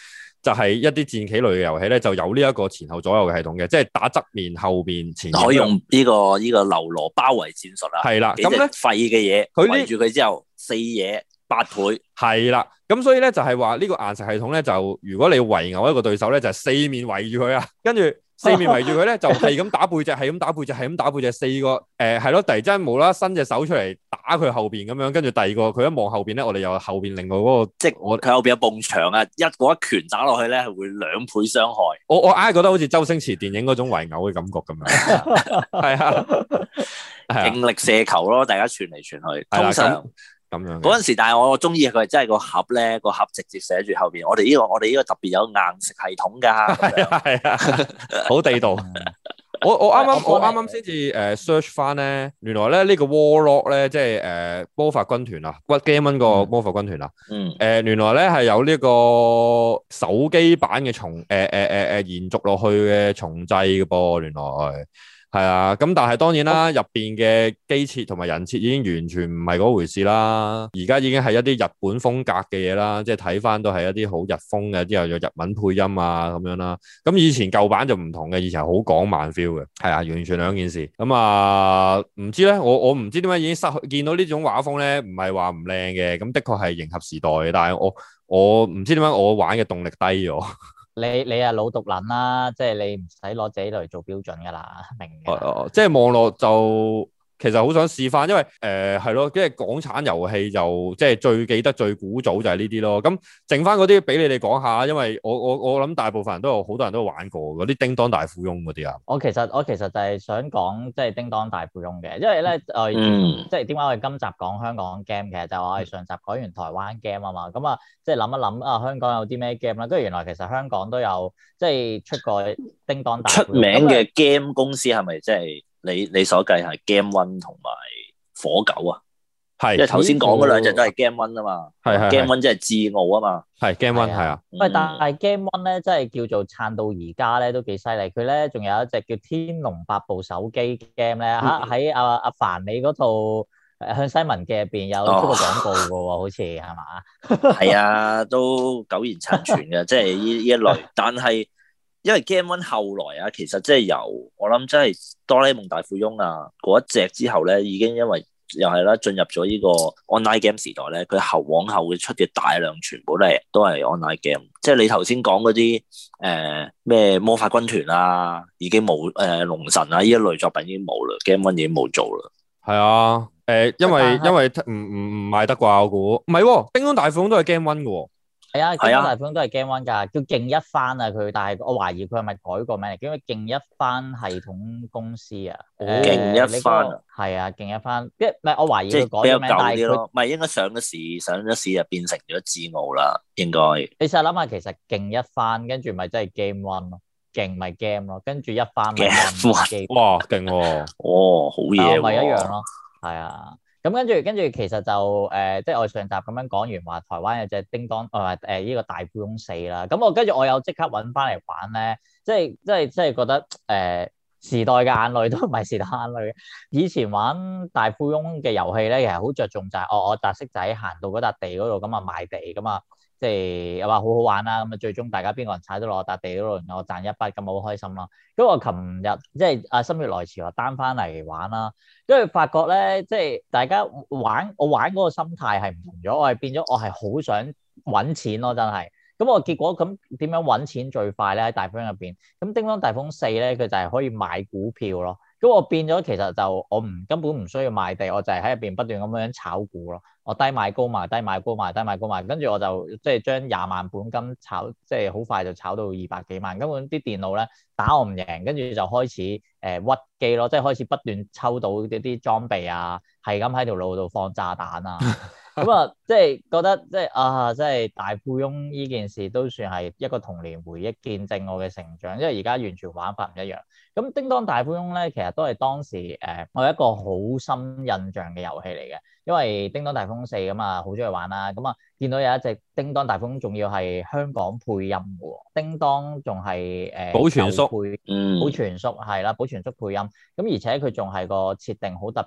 就係一啲戰棋類嘅遊戲咧，就有呢一個前後左右嘅系統嘅，即係打側面、後邊、前面。可以用呢個呢個流羅包圍戰術啊。係啦，咁咧廢嘅嘢，佢圍住佢之後，四嘢八倍。 係啦，咁所以咧就係話呢個硬食系統咧，就如果你圍毆一個對手咧，就係四面圍住佢啊，跟住。四面圍住佢咧，就係咁打背脊，係咁打背脊，係咁打背脊。四個誒係咯，突然之間無啦啦伸隻手出嚟打佢後邊咁樣，跟住第二個佢一望後邊咧，我哋又後邊另外嗰個， 即係我佢後邊有埲牆啊，一嗰一拳打落去咧，係會兩倍傷害。 我我硬係覺得好似周星馳電影嗰種圍毆嘅感覺咁樣，係啊， 勁力射球咯，大家傳嚟傳去，通常。 咁樣嗰陣時，但係我中意佢真係個盒咧，個盒直接寫住後邊，我哋呢、這個我哋呢個特別有硬食系統㗎， 係啊係啊，好地道。我我啱啱我啱啱先至誒 search 翻咧，原來咧呢個 Warlock 咧，即係誒魔法軍團啊，屈 Game 個魔法軍團啊，嗯，誒、呃、原來咧係有呢個手機版嘅重誒誒誒誒延續落去嘅重製嘅噃，原來。係啊，咁但係當然啦，入邊嘅機設同埋人設已經完全唔係嗰回事啦。而家已經係一啲日本風格嘅嘢啦，即係睇翻都係一啲好日風嘅，之後有日文配音啊咁樣啦。咁以前舊版就唔同嘅，以前好港漫 feel 嘅，係啊，完全兩件事。咁啊，唔知咧，我我唔知點解已經失去見到呢種畫風咧，唔係話唔靚嘅，咁的確係迎合時代嘅，但係我我唔知點解我玩嘅動力低咗。 你你係老毒撚啦，即係你唔使攞自己嚟做標準噶啦，明嘅。 哦，即係網絡就其實好想試翻，因為誒係咯，即係港產遊戲就即係最記得最古早就係呢啲咯。咁剩翻嗰啲俾你哋講下，因為我我我諗大部分人都有好多人都玩過嗰啲叮當大富翁嗰啲啊。 我其實我其實就係想講即係叮當大富翁嘅，因為咧誒， 嗯、 即係點解我哋今集講香港 game 嘅，就係我哋上集講完台灣 game 啊嘛，咁啊即係諗一諗啊香港有啲咩 game 啦，跟住原來其實香港都有即係出過叮當大富翁。 出名嘅 game 公司係咪即係？你你所計係 Game One 同埋火狗啊，係，因為頭先講嗰兩隻都係 Game One 啊嘛，係係 Game One 即係智傲啊嘛， 係 Game One 係啊， 喂，但係 Game One 咧，真係叫做撐到而家咧，都幾犀利。佢咧仲有一隻叫《天龍八部》手機 game 咧，嚇喺阿阿凡你嗰套向西文嘅入邊有出過廣告嘅喎，好似係嘛？ 係啊，都苟延殘喘嘅，即係呢呢一類，但係。因為 Game One 後來啊，其實即係由我諗真係哆啦 A 夢大富翁啊嗰一隻之後咧，已經因為又係啦進入咗呢個 online game 時代咧，佢後往後嘅出嘅大量全部都係都係 online game，即係你頭先講嗰啲誒咩魔法軍團啊，已經冇誒龍神啊呢一類作品已經冇啦 ，Game One 已經冇做啦。 係啊，誒、呃、因為因為唔唔唔賣得啩我估，唔係喎，叮當大富翁都係 Game One 嘅喎。 係啊，叮當大富翁都係 Game One 㗎，叫勁一番啊佢，但係我懷疑佢係咪改個名嚟？叫咩勁一番系統公司啊？ 勁一番啊， 係啊，勁一番，即係唔係我懷疑佢改個名，但係佢唔係應該上咗市，上咗市就變成咗智傲啦，應該。 你試下諗下，其實勁一番跟住咪真係 Game One 咯，勁咪 Game 咯，跟住一番咪 Game，哇勁喎， 哦好嘢喎， 咪一樣咯，係啊。咁跟住，跟住其實就誒、呃，即係我上集咁樣講完話，台灣有隻叮當，誒誒呢個大富翁四啦。咁我跟住我有即刻揾翻嚟玩咧，即係即係即係覺得誒、呃、時代嘅眼淚都唔係時代眼淚。以前玩大富翁嘅遊戲咧，其實好着重就係、是、我我擲色仔行到嗰笪地嗰度咁啊賣地咁啊。即係又話好好玩啦，咁啊最終大家邊個人踩到落笪地嗰度，然後我賺一筆咁好開心啦。咁我琴日即係阿心血來潮話 down 翻嚟玩啦，跟住發覺咧，即係大家玩我玩嗰個心態係唔同咗，我係變咗我係好想揾錢咯，真係。咁我結果咁點樣揾錢最快咧？喺大富翁入邊，咁叮當大富翁四咧，佢就係可以買股票咯。咁我變咗其實就我唔根本唔需要賣地，我就係喺入邊不斷咁樣炒股咯。我低買高賣，低買高賣，低買高賣，跟住我就即係將廿萬本金炒，即係好快就炒到二百幾萬。根本啲電腦咧打我唔贏，跟住就開始誒、呃、屈機咯，即係開始不斷抽到啲啲裝備啊，係咁喺條路度放炸彈啊。咁啊，即係覺得即係啊，即係大富翁呢件事都算係一個童年回憶，見證我嘅成長。因為而家完全玩法唔一樣。咁叮當大富翁咧，其實都係當時誒、呃、我有一個好深印象嘅遊戲嚟嘅。因為叮當大富翁四咁啊，好中意玩啦。咁啊，見到有一隻叮當大富翁，仲要係香港配音嘅喎。叮當仲係誒保全叔， 配嗯，保全叔係啦，保全叔配音。咁而且佢仲係個設定好特別，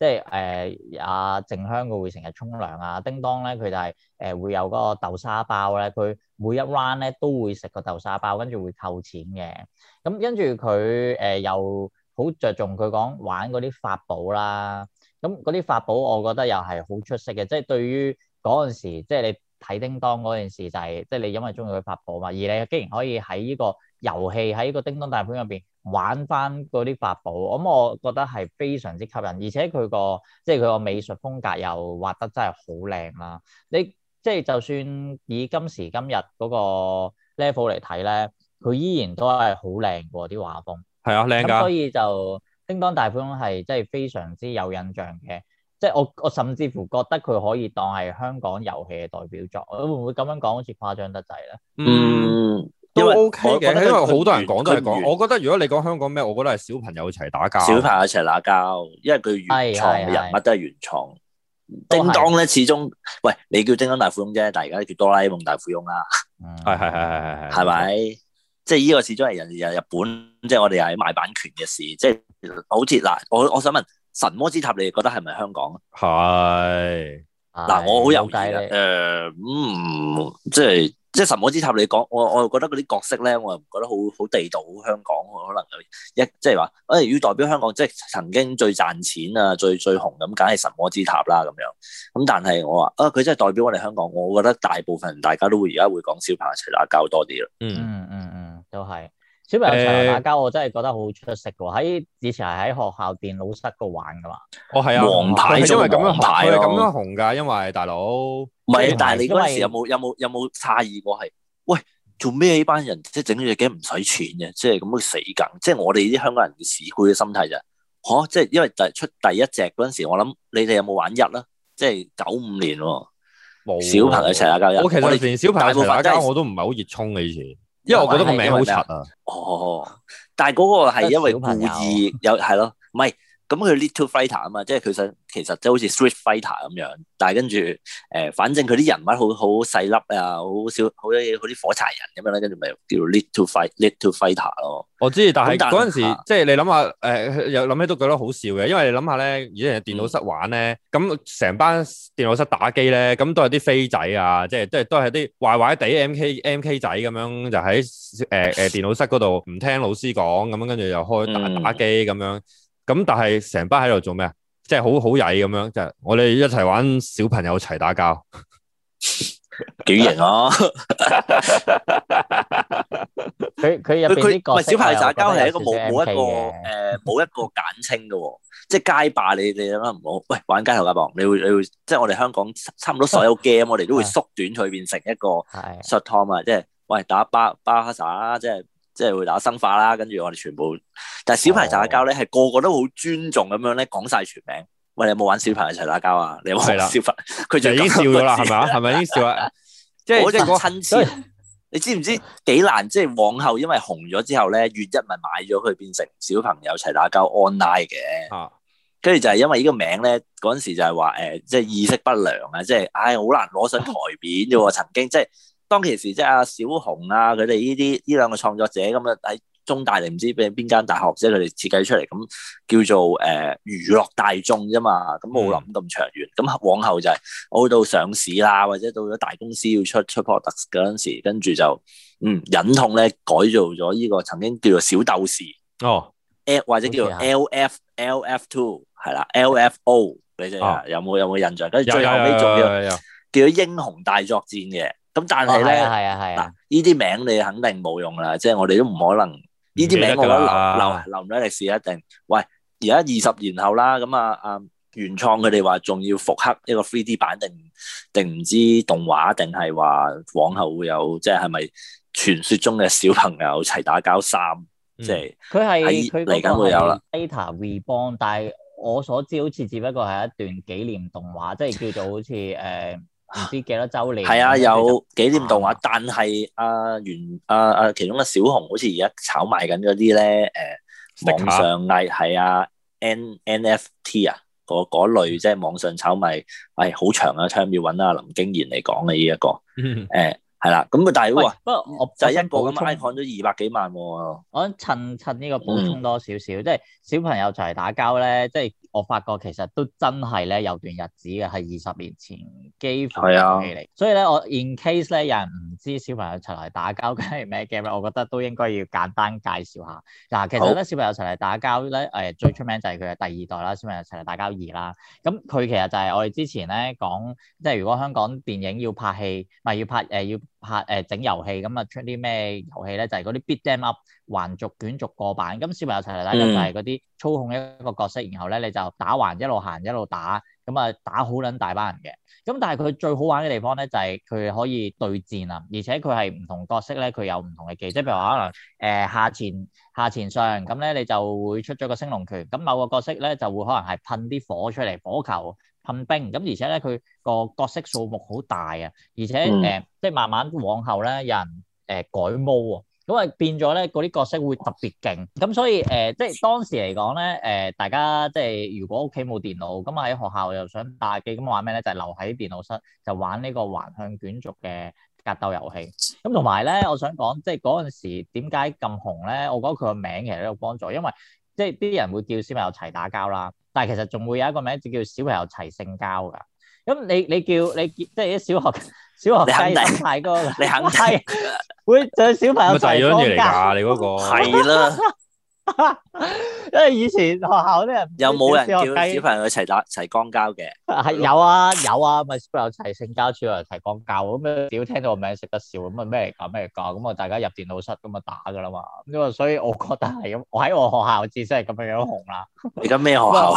即係誒阿靜香佢會成日沖涼啊，叮當咧佢就係、是、誒、呃、會有嗰個豆沙包咧，佢每一 round 咧都會食個豆沙包，跟住會扣錢嘅。咁跟住佢誒又好着重佢講玩嗰啲法寶啦。咁嗰啲法寶我覺得又係好出色嘅，即係對於嗰陣時，即係你睇叮當嗰陣時就係、是，即係你因為中意佢法寶嘛，而你竟然可以喺呢個遊戲喺呢個叮當大盤入邊玩翻嗰啲法寶，咁我覺得係非常之吸引，而且佢個即係佢個美術風格又畫得真係好靚啦。你即係就算以今時今日嗰個 level 嚟睇咧，佢依然都係好靚喎啲畫風。 係啊，靚㗎。 咁所以就叮當大富翁係真係非常之有印象嘅，即係我我甚至乎覺得佢可以當係香港遊戲嘅代表作。會唔會咁樣講好似誇張得滯咧？ 嗯， 都 OK 嘅，因為好多人講都係講。 完我覺得如果你講香港咩，我覺得係小朋友一齊打交。 小朋友一齊打交，因為佢原創嘅人物都係原創。叮當咧，始終喂你叫叮當大富翁啫，但係而家叫哆啦 A 夢大富翁啦。 係係係係係， 係咪？即係呢個始終係人哋日本，即係我哋係買版權嘅事。即係好似嗱，我我想問神魔之塔，你哋覺得係咪香港啊？ 係嗱，我好猶豫嘅。誒，嗯，即係即係神魔之塔，你講我我又覺得嗰啲角色咧，我又唔覺得好好地道，好香港。可能有一即係話，誒要代表香港，即係曾經最賺錢啊、最最紅咁，梗係神魔之塔啦咁樣。咁但係我話啊，佢真係代表我哋香港，我覺得大部分人大家都會而家會講小朋友一齊打交多啲咯。 嗯嗯嗯嗯，都係小朋友一齊打交，我真係覺得好出色嘅喎。喺以前係喺學校電腦室度玩噶嘛。 哦，係啊， 王牌因為咁樣紅， 牌佢係咁樣紅㗎，因為大佬。 唔係，但係你嗰陣時有冇有冇有冇詫異過係？喂，做咩呢班人即係整呢隻 game 唔使錢嘅，即係咁死梗。即係我哋啲香港人嘅市儈嘅心態就係，嚇，即係因為第出第一隻嗰陣時，我諗你哋有冇玩一啦？即係九五年喎，冇小朋友一齊打交。 我其實連小朋友一齊打交我都唔係好熱衷嘅以前，因為我覺得個名好柒啊。 哦，但係嗰個係因為故意有係咯，唔係。咁佢 Little Fighter 啊嘛，即係佢想其實即係好似 Street Fighter 咁樣，但係跟住誒，反正佢啲人物好好細粒啊，好少好啲好啲火柴人咁樣咧，跟住咪叫 Little Fight Little Fighter 咯。我知，但係嗰陣時即係你諗下誒，又諗起都覺得好笑嘅，因為你諗下咧，以前電腦室玩咧，咁成班電腦室打機咧，咁都係啲飛仔啊，即係即係都係啲壞壞地 M K M K 仔咁樣，就喺誒誒電腦室嗰度唔聽老師講，咁樣跟住又開打打機咁樣。咁但係成班喺度做咩啊？即係好好曳咁樣，即係我哋一齊玩小朋友一齊打交，幾型啊！佢佢入邊啲角色，唔係小朋友打交係一個冇冇一個誒冇一個簡稱嘅喎，即係街霸你你諗下唔好，喂玩街頭街霸，你會你會即係我哋香港差唔多所有 game 我哋都會縮短佢變成一個 short term 啊，即係喂打巴巴哈薩啦，即係。即係會打生化啦，跟住我哋全部，但係小朋友打交咧，係個個都好尊重咁樣咧，講晒全名。喂，你有冇玩小朋友一齊打交啊？你有冇玩小朋友？佢就已經笑咗啦，係咪啊？係咪已經笑啦？即係嗰陣親切，你知唔知幾難？即係往後因為紅咗之後咧，月一咪買咗佢變成小朋友一齊打交 online 嘅。啊，跟住就係因為呢個名咧，嗰陣時就係話誒，即係意識不良啊，即係唉好難攞上台面啫喎。曾經即係。當其時即係阿小紅啊，佢哋呢啲呢兩個創作者咁啊喺中大定唔知邊邊間大學即係佢哋設計出嚟咁叫做誒、呃、娛樂大眾啫嘛，咁冇諗咁長遠。咁、嗯、往後就係、是、我到上市啦，或者到咗大公司要出出 product 嗰陣時，跟住就嗯忍痛咧改造咗呢個曾經叫做小鬥士哦 ，L 或者叫做 L F L F two 係啦 ，L F O 你哋、哦、有冇有冇印象？跟住最後尾仲叫叫做英雄大作戰嘅。咁但係咧，嗱呢啲名你肯定冇用啦，即係我哋都唔可能呢啲名，我覺得留留留唔到歷史一定。喂，而家二十年後啦，咁啊啊原創佢哋話仲要復刻一個 three D 版定定唔知動畫，定係話往後會有即係係咪傳說中嘅小朋友齊打交三？即係佢係佢嚟緊會有啦。Data Reborn，但係我所知好似只不過係一段紀念動畫，即係叫做好似誒。唔知幾多週年？係啊，有紀念動畫，啊、但係阿原阿阿其中嘅小紅好似而家炒賣緊嗰啲咧，誒、呃、網上藝係啊 N N F T 啊，嗰嗰類即係網上炒賣，係、哎、好長啊，差唔多要揾阿林經賢嚟講嘅呢一個，誒係啦，咁啊，但係哇， 不過我就係一個咁 icon 都二百幾萬喎。 我想趁趁呢個補充多少少，嗯、即係小朋友就嚟打交咧，即係我發覺其實都真係咧有段日子嘅，係二十年前幾乎嘅遊戲嚟。所以咧，我 in case 咧有人唔知小朋友齊嚟打交梗係咩 game 咧，我覺得都應該要簡單介紹下。嗱，其實咧好小朋友齊嚟打交咧，誒最出名就係佢嘅第二代啦，小朋友齊嚟打交二啦。咁佢其實就係我哋之前咧講，即係如果香港電影要拍戲，唔係要拍誒、呃、要。拍誒整遊戲咁啊，出啲咩遊戲咧？就係嗰啲 beat them up 橫軸卷軸過版。咁小朋友齊嚟打交就係嗰啲操控一個角色，然後咧你就打橫一路行一路打，咁啊打好撚大班人嘅。咁但係佢最好玩嘅地方咧，就係、是、佢可以對戰啊，而且佢係唔同角色咧，佢有唔同嘅技，即係譬如話可能誒、呃、下前下前上，咁咧你就會出咗個升龍拳。咁某個角色咧就會可能係噴啲火出嚟，火球。噴冰咁，而且咧佢個角色數目好大啊，而且誒、嗯呃、即係慢慢往後咧有人誒、呃、改毛喎，咁啊變咗咧嗰啲角色會特別勁，咁所以誒、呃、即係當時嚟講咧誒大家即係如果屋企冇電腦，咁啊喺學校又想打機，咁玩咩咧？就係、是、留喺電腦室就玩呢個橫向卷軸嘅格鬥遊戲。咁同埋咧，我想講即係嗰陣時點解咁紅咧？我覺得佢個名其實都有幫助，因為即係啲人會叫小朋友齊打交啦。但係其實仲會有一個名字叫小朋友齊性交㗎。咁你你叫你即係啲小學小學雞心態哥，你肯定會就小朋友齊光交。你嗰個係啦， 因為以前學校啲人有冇人叫小朋友齊打齊光交嘅？ 係有啊有啊，咪小朋友齊性交，小朋友齊光交咁樣。屌聽到個名識得笑咁啊，咩嚟㗎咩嚟㗎？咁啊大家入電腦室咁啊打㗎啦嘛。因為所以我覺得係咁，我喺我學校至少係咁樣樣紅啦。 而家咩學校？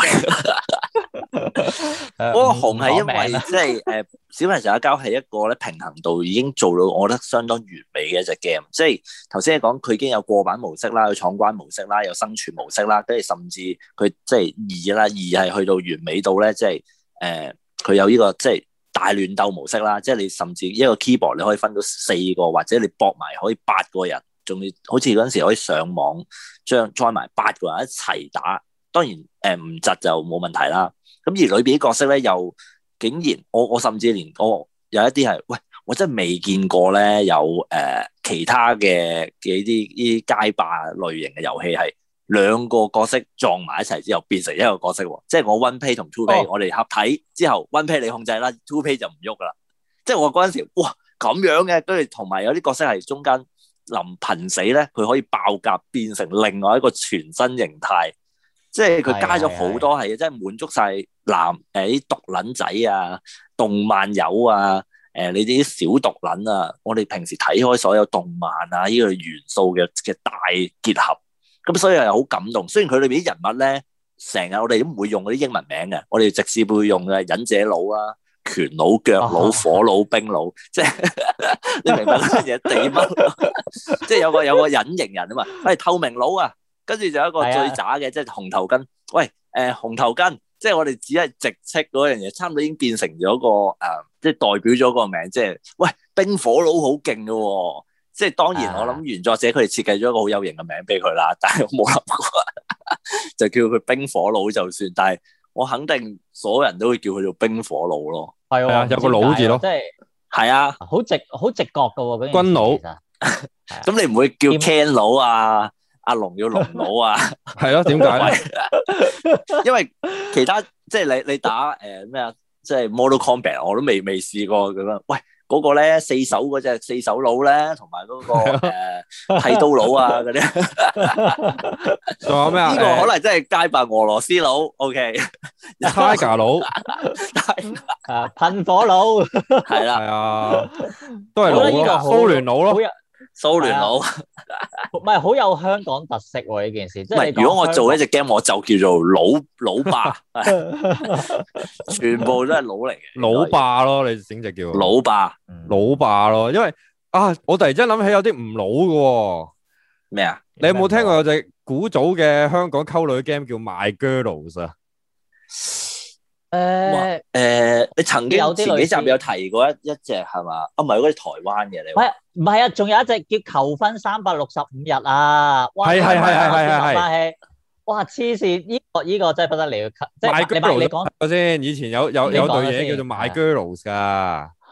嗰個紅係因為即係誒小朋友齊打交係一個咧平衡度已經做到我覺得相當完美嘅一隻 game。即係頭先你講佢已經有過版模式啦，有闖關模式啦，有生存模式啦，跟住甚至佢即係二啦，二係去到完美到咧，即係誒佢有呢個即係大亂鬥模式啦。即係你甚至一個 keyboard 你可以分到四個，或者你搏埋可以八個人，仲要好似嗰陣時可以上網將 join 埋八個人一齊打。當然誒唔窒就冇問題啦。咁而裏邊啲角色咧，又竟然我我甚至連我有一啲係，喂，我真係未見過咧，有誒、呃、其他嘅嘅啲呢啲街霸類型嘅遊戲係兩個角色撞埋一齊之後變成一個角色喎。即係我 one play 同 two play，、哦、我哋合體之後 one play 你控制啦 ，two play 就唔喐噶啦。即係我嗰陣時，哇咁樣嘅，跟住同埋有啲角色係中間臨瀕死咧，佢可以爆甲變成另外一個全新形態。即係佢加咗好多係，即係滿足晒男誒啲毒撚仔啊、動漫友啊、誒、呃、你哋啲小毒撚啊，我哋平時睇開所有動漫啊呢、這個元素嘅嘅大結合，咁所以係好感動。雖然佢裏邊啲人物咧，成日我哋都唔會用嗰啲英文名嘅，我哋直接會用嘅忍者佬啊、拳佬、腳佬、火佬、冰佬，即係你明白嗰樣嘢地乜？即係有個有個隱形人啊嘛，係透明佬啊！跟住就有一個最渣嘅，即係紅頭巾。喂，誒、呃、紅頭巾，即係我哋只係直斥嗰樣嘢，差唔多已經變成咗個誒、呃，即係代表咗個名，即係喂冰火佬好勁嘅喎。即係當然，我諗原作者佢哋設計咗一個好有型嘅名俾佢啦，但係我冇諗過就叫佢冰火佬就算。但係我肯定所有人都會叫佢做冰火佬咯。 係啊， 有個佬字咯， 即係係啊， 好直好直覺嘅喎。 軍佬， 咁你唔會叫 Ken 佬啊？阿龍要龍佬啊， 係咯？點解咧？ 因為其他即係你你打誒咩啊？即係 Mortal Kombat 我都未未試過咁樣。喂，嗰、那個咧四手嗰隻四手佬咧，同埋嗰個誒剃刀佬啊嗰啲。仲有咩啊？呢個可能真係街霸俄羅斯佬。OK，Tiger 佬， 啊噴火佬， 係啦， 係啊，都係佬咯，蘇聯佬咯。 蘇聯佬， 唔係好有香港特色喎呢件事。即係如果我做一隻 game，我就叫做老老霸，全部都係佬嚟嘅。 老霸咯，你整隻叫老霸， 老霸咯。因為啊，我突然之間諗起有啲唔老嘅。 咩啊？ 你有冇聽過有隻古早嘅香港溝女 game 叫 My Girls 啊？ 誒誒、呃呃，你曾經有前幾集有提過一一隻係嘛？啊，唔係嗰啲台灣嘅你。 係唔係啊？仲有一隻叫求婚三百六十五日啊！ 係係係係係係。 哇！黐線，呢個呢個真係不得了。即係你你講先，以前有有有對嘢叫做 My Girls 噶。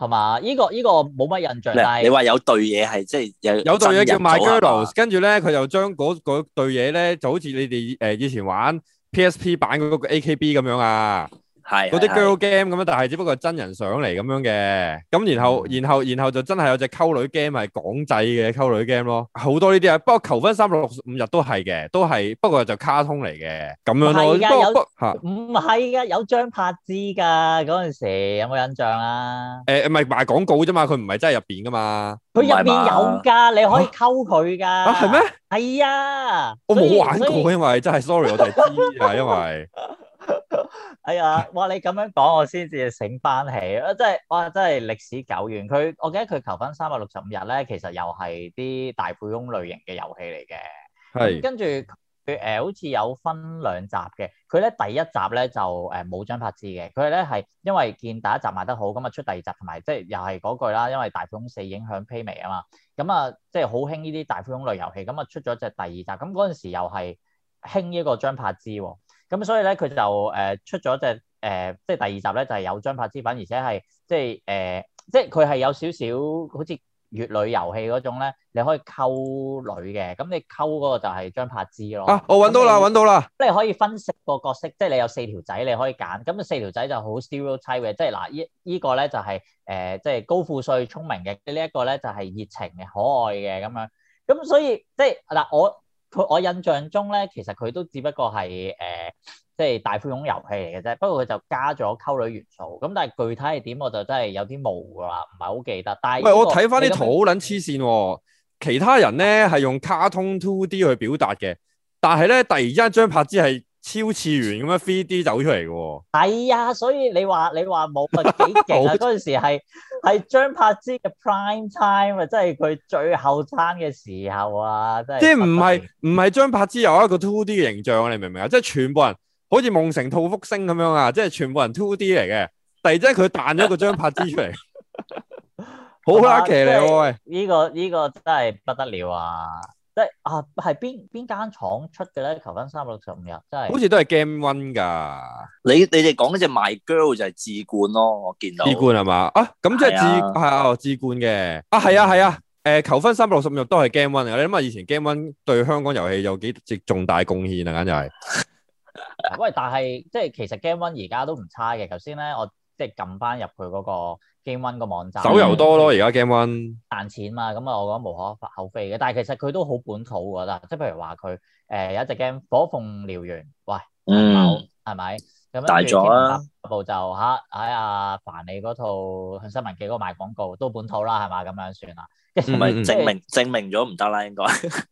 係嘛？呢個呢個冇乜印象，但係你話有對嘢係即係有有對嘢叫 My Girls， 跟住咧佢就將嗰嗰對嘢咧就好似你哋誒以前玩 P S P 版嗰個 A K B 咁樣啊。係嗰啲 girl game 咁樣，但係只不過係真人上嚟咁樣嘅，咁然後然後然後就真係有隻溝女 game 係港製嘅溝女 game 咯，好多呢啲啊。不過求婚三百六十五日都係嘅，都係不過就卡通嚟嘅咁樣咯。不過嚇唔係噶，有張柏芝㗎嗰陣時，有冇印象啊？ 誒唔係賣廣告啫嘛，佢唔係真係入邊㗎嘛。 佢入邊有㗎，你可以溝佢㗎。啊係咩？ 係啊， 我冇玩過，因為真係 sorry，我就係知啊，因為。 哎呀，哇！你咁樣講，我先至醒翻起，啊，真係哇，真係歷史久遠。佢，我記得佢求婚三百六十五日咧，其實又係啲大富翁類型嘅遊戲嚟嘅。係。跟住佢誒，好似有分兩集嘅。佢咧第一集咧就誒冇張柏芝嘅。佢咧係因為見第一集賣得好，咁啊出第二集，同埋即係又係嗰句啦，因為大富翁四影響披靡啊嘛。咁啊，即係好興呢啲大富翁類遊戲，咁啊出咗隻第二集。咁嗰陣時又係興呢個張柏芝喎。咁所以咧，佢就誒、呃、出咗隻誒，即、呃、係第二集咧，就係、是、有張柏芝粉，而且係即係誒，即係佢係有少少好似乙女遊戲嗰種咧，你可以溝女嘅，咁你溝嗰個就係張柏芝咯。啊， 我揾到啦，揾到啦！ 你可以分析個角色，即係你有四條仔，你可以揀。咁四條仔就好 stereotype 嘅，即係嗱，依依個咧就係、是、誒，即、呃、係、就是、高富帥、聰明嘅。呢、這、一個咧就係熱情嘅、可愛嘅咁樣。咁所以即係嗱，我。佢我印象中咧，其實佢都只不過係誒、呃，即係大富翁遊戲嚟嘅啫。不過佢就加咗溝女元素。咁但係具體係點，我就真係有啲模糊啦，唔係好記得。但係、這個， 喂，我睇翻啲圖好撚黐線喎。其他人咧係用卡通 two D 去表達嘅，但係咧突然之間張柏芝係超次元咁樣 three D 走出嚟嘅喎。係啊，所以你話你話冇咪幾勁啊？嗰陣時係係張柏芝嘅 prime time 啊，即係佢最後生嘅時候啊，真係。即係唔係唔係張柏芝有一個 two D 嘅形象啊？你明唔明啊？即係全部人好似夢成兔福星咁樣啊！即係全部人 two D 嚟嘅，突然之間佢彈咗個張柏芝出嚟，好拉奇嚟喎！喂， 呢個呢個真係不得了啊！即係啊，係邊邊間廠出嘅咧？求婚三百六十五日，真係好似都係 Game One 㗎。 你你哋講嗰隻 My Girl 就係智冠咯，我見到。 智冠係嘛？啊，咁即係智係啊，智冠嘅。啊，係啊，係啊。誒，求婚三百六十五日都係 Game One 嚟。你諗下，以前 Game One 對香港遊戲有幾值重大貢獻啊？簡直係。 喂，但係即係其實 Game One 而家都唔差嘅。頭先咧，我即係撳翻入去嗰個 Game One 個網站， 手遊多咯，而家 Game One 賺錢嘛，咁啊，我覺得無可厚非嘅。但係其實佢都好本土㗎啦，即係譬如話佢誒有一隻 game《火鳳燎原》，喂，嗯，係咪？咁大咗啦， 部就嚇喺阿凡你嗰套向新聞記嗰個賣廣告都本土啦，係嘛？咁樣算啦， 唔係證明證明咗唔得啦，應該。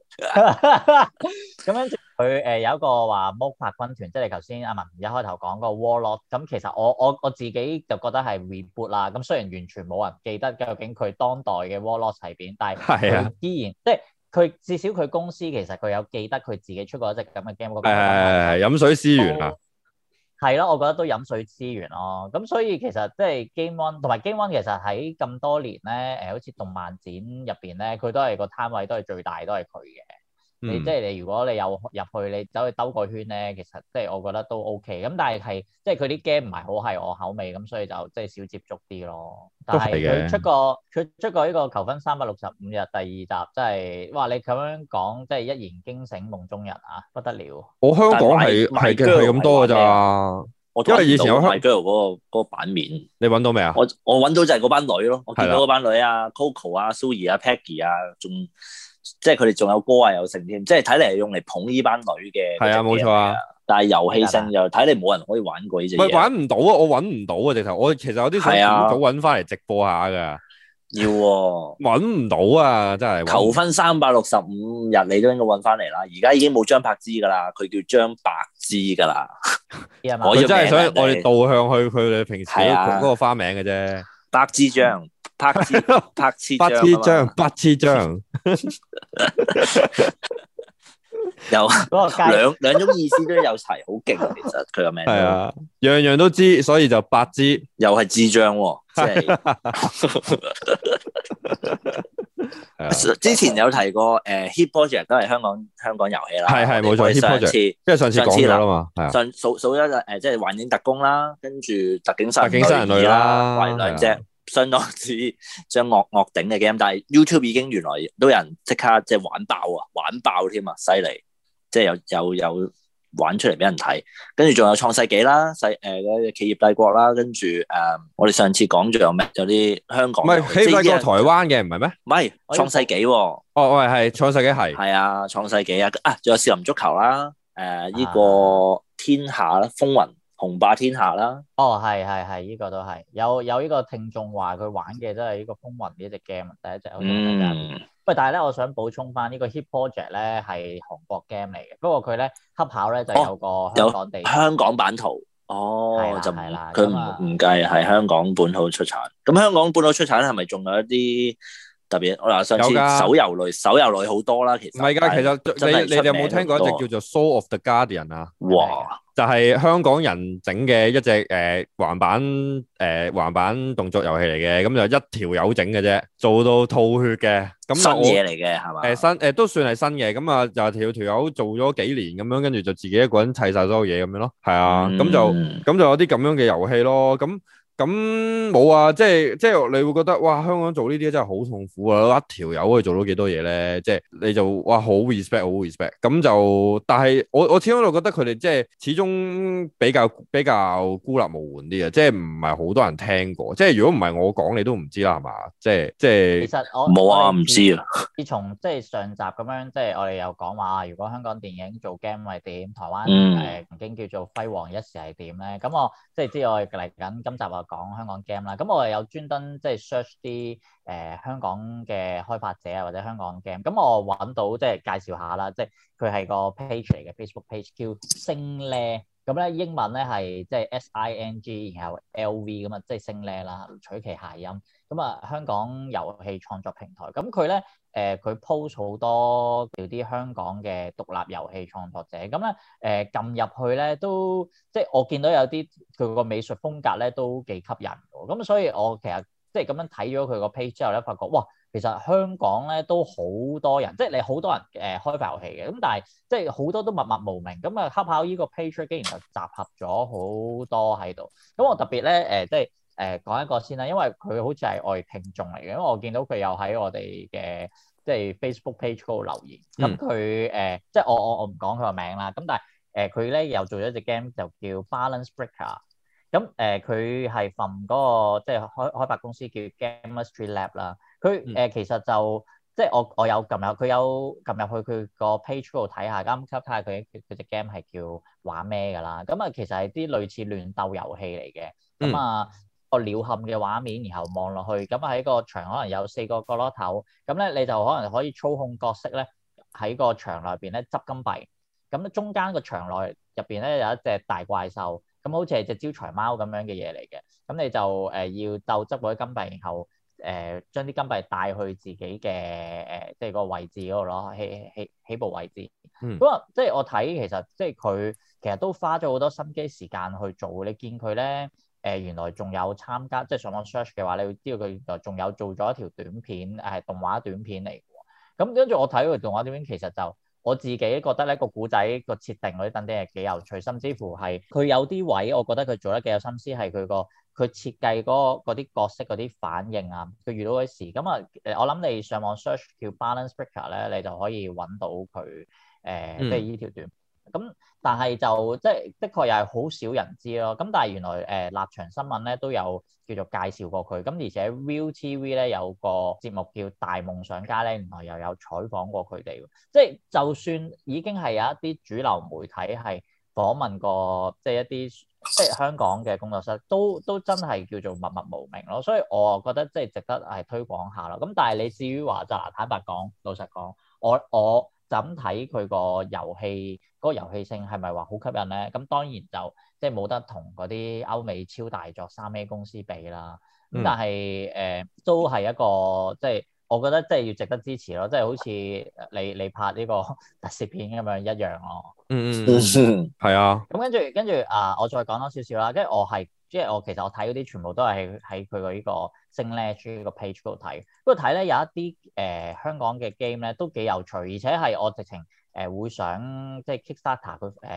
咁跟住佢誒有一個話魔法軍團，即係你頭先阿文一開頭講嗰個 Warlord，咁其實我我我自己就覺得係 reboot 啦。咁雖然完全冇人記得究竟佢當代嘅 Warlord 係邊，但係佢依然即係佢至少佢公司其實佢有記得佢自己出過一隻咁嘅 game。誒誒飲水思源啊！ 係咯，我覺得都飲水思源咯。咁所以其實即係 Game One 同埋 Game One 其實喺咁多年咧，誒好似動漫展入邊咧，佢都係個攤位都係最大，都係佢嘅。你即係你如果你有入去，你走去兜個圈咧，其實即係我覺得都 OK。咁但係係即係佢啲 game 唔係好係我口味，咁所以就即係少接觸啲咯。但係佢出過佢出過呢個求婚三百六十五日第二集，真係哇！你咁樣講，即係一言驚醒夢中人啊，不得了。 我香港係係係咁多㗎咋。因為以前有 My Girl 嗰個嗰個版面， 你揾到未啊？ 我我揾到就係嗰班女咯，我見到嗰班女啊 ，Coco 啊、Zoe 啊、Peggy 啊，仲。即係佢哋仲有歌啊，有成添，即係睇嚟係用嚟捧呢班女嘅。係啊，冇錯啊。但係遊戲性就睇嚟冇人可以玩過呢隻嘢。 唔係玩唔到啊！我揾唔到啊！直頭我其實有啲想早揾翻嚟直播下㗎。 要喎， 揾唔到啊！真係。 求婚三百六十五日你都應該揾翻嚟啦。而家已經冇張柏芝㗎啦，佢叫張白芝㗎啦。 佢真係想我哋導向去佢哋平時嗰個花名嘅啫。 白芝張。拍次拍次八次張，八次張， 有兩兩種意思都有齊，好勁。其實佢個名係啊，樣樣都知，所以就八支， 又係智障喎。即係之前有提過，誒 Hit Project 都係香港香港遊戲啦。 係係冇錯 Hit Project，因為上次講咗啦嘛。 上數數一誒，即係幻影特工啦，跟住特警殺特警殺人類啦， 為兩隻。 相當之將惡惡頂嘅 game，但係 YouTube 已經原來都有人即刻即係玩爆啊，玩爆添啊，犀利！即係有有有玩出嚟俾人睇，跟住仲有創世紀啦，細誒嗰隻企業帝國啦，跟住誒我哋上次講仲有咩？有啲香港唔係企業帝國台灣嘅唔係咩？唔係創世紀喎。 哦，喂係創世紀係係啊，創世紀啊，啊仲有少林足球啦，誒呢個天下啦，風雲雄霸天下啦。 哦，係係係，呢個都係有有呢個聽眾話佢玩嘅都係呢個風雲呢隻 game，第一隻好似係。喂，但係咧，我想補充翻呢個 Hit Project 咧係韓國 game 嚟嘅，不過佢咧恰巧咧就有個香港地、 哦、香港版圖，哦，就係啦， 佢唔唔計係香港本土出產。咁香港本土出產係咪仲有一啲特別？我嗱上次手遊類，手遊類好多啦，其實唔係㗎， 其實你你哋有冇聽過一隻叫做 Soul of the Guardian 啊？ 哇！ 就係香港人整嘅一隻誒橫版誒、呃、橫版動作遊戲嚟嘅，咁就一條友整嘅啫，做到吐血嘅。咁新嘢嚟嘅係嘛？ 誒新誒都算係新嘅，咁啊就條條友做咗幾年咁樣，跟住就自己一個人砌晒所有嘢咁樣咯。係啊，咁、嗯、就咁就有啲咁樣嘅遊戲咯。咁咁冇啊，即係即係你會覺得哇，香港做呢啲真係好痛苦啊！一條友可以做到幾多嘢咧？即係你就哇好 respect 好 respect。咁就但係我我始終就覺得佢哋即係始終比較比較孤立無援啲啊！即係唔係好多人聽過。即係如果唔係我講，你都唔知啦，係嘛？即係即係。 其實我冇啊，唔知啊。 自從即係上集咁樣，即係我哋又講話，如果香港電影做 game 係點，台灣誒、 嗯呃、曾經叫做輝煌一時係點咧？咁我即係知我哋嚟緊今集啊講香港 game 啦。咁我哋有專登即係 search 啲誒香港嘅開發者啊，或者香港 game。咁我揾到即係介紹下啦，即係佢係個 page 嚟嘅 Facebook page 叫星咧。咁咧英文咧係即係 S I N G 然後 L V 咁啊，即係星咧啦，取其諧音。咁啊，香港遊戲創作平台，咁佢咧誒佢 post 好多叫啲香港嘅獨立遊戲創作者，咁咧誒撳入去咧都即係我見到有啲佢個美術風格咧都幾吸引嘅，咁所以我其實即係咁樣睇咗佢個 page 之後咧，發覺哇，其實香港咧都好多人，即係你好多人誒、呃、開發遊戲嘅，咁但係即係好多都默默無名，咁啊恰巧呢個 page 竟然就集合咗好多喺度，咁我特別咧誒、呃、即係。誒、呃、講一個先啦，因為佢好似係我哋聽眾嚟嘅，因為我見到佢有喺我哋嘅即係 Facebook page 嗰度留言。咁佢誒即係我我我唔講佢個名啦。咁但係誒佢咧又做咗一隻 game 就叫 Balance Breaker。咁誒佢係 from 嗰個即係開開發公司叫 Gamestry Lab 啦。佢誒、呃、其實就即係我我有撳入佢有撳入去佢個 page 嗰度睇下，啱啱睇下佢佢隻 game 係叫玩咩㗎啦。咁啊其實係啲類似亂鬥遊戲嚟嘅。咁啊〜、嗯個鳥瞰嘅畫面，然後望落去，咁喺個場可能有四個角落頭，咁咧你就可能可以操控角色咧喺個場內邊咧執金幣，咁中間個場內入邊咧有一隻大怪獸，咁好似係隻招財貓咁樣嘅嘢嚟嘅，咁你就誒、呃、要鬥執嗰啲金幣，然後誒將啲金幣帶去自己嘅誒、呃、即係個位置嗰度咯，起起起步位置。咁啊、嗯，即係我睇其實即係佢其實都花咗好多心機時間去做，你見佢咧。誒、呃、原來仲有參加，即係上網 search 嘅話，你會知道佢原來仲有做咗一條短片，誒、呃、動畫短片嚟嘅。咁跟住我睇佢動畫短片，其實就我自己覺得咧個古仔個設定嗰啲等啲係幾有趣，甚至乎係佢有啲位，我覺得佢做得幾有心思，係佢個佢設計嗰啲角色嗰啲反應啊，佢遇到嗰啲事。咁啊誒，我諗你上網 search 叫 Balance Breaker 咧，你就可以揾到佢誒、呃嗯、即係呢條短片。咁但係就即係的確又係好少人知咯。咁但係原來誒、呃、立場新聞咧都有叫做介紹過佢。咁而且 ViuTV 咧有個節目叫大夢想家咧，原來又有採訪過佢哋。即係就算已經係有一啲主流媒體係訪問過，即係一啲即係香港嘅工作室，都都真係叫做默默無名咯。所以我覺得即係值得係推廣下咯。咁但係你至於話就嗱，坦白講，老實講，我我。就咁睇佢個遊戲嗰個遊戲性係咪話好吸引咧？咁當然就即係冇得同嗰啲歐美超大作三 A 公司比啦。咁但係誒、呃、都係一個即係我覺得即係要值得支持咯。即係好似你你拍呢個特攝片咁樣一樣咯。 嗯嗯嗯，係啊。 咁跟住跟住啊，我再講多少少啦。跟住我係即係我其實我睇嗰啲全部都係喺佢個呢個星咧呢個 page 嗰度睇。不過睇咧有一啲誒、呃、香港嘅 game 咧都幾有趣，而且係我直情誒、呃、會想即係 Kickstarter 佢誒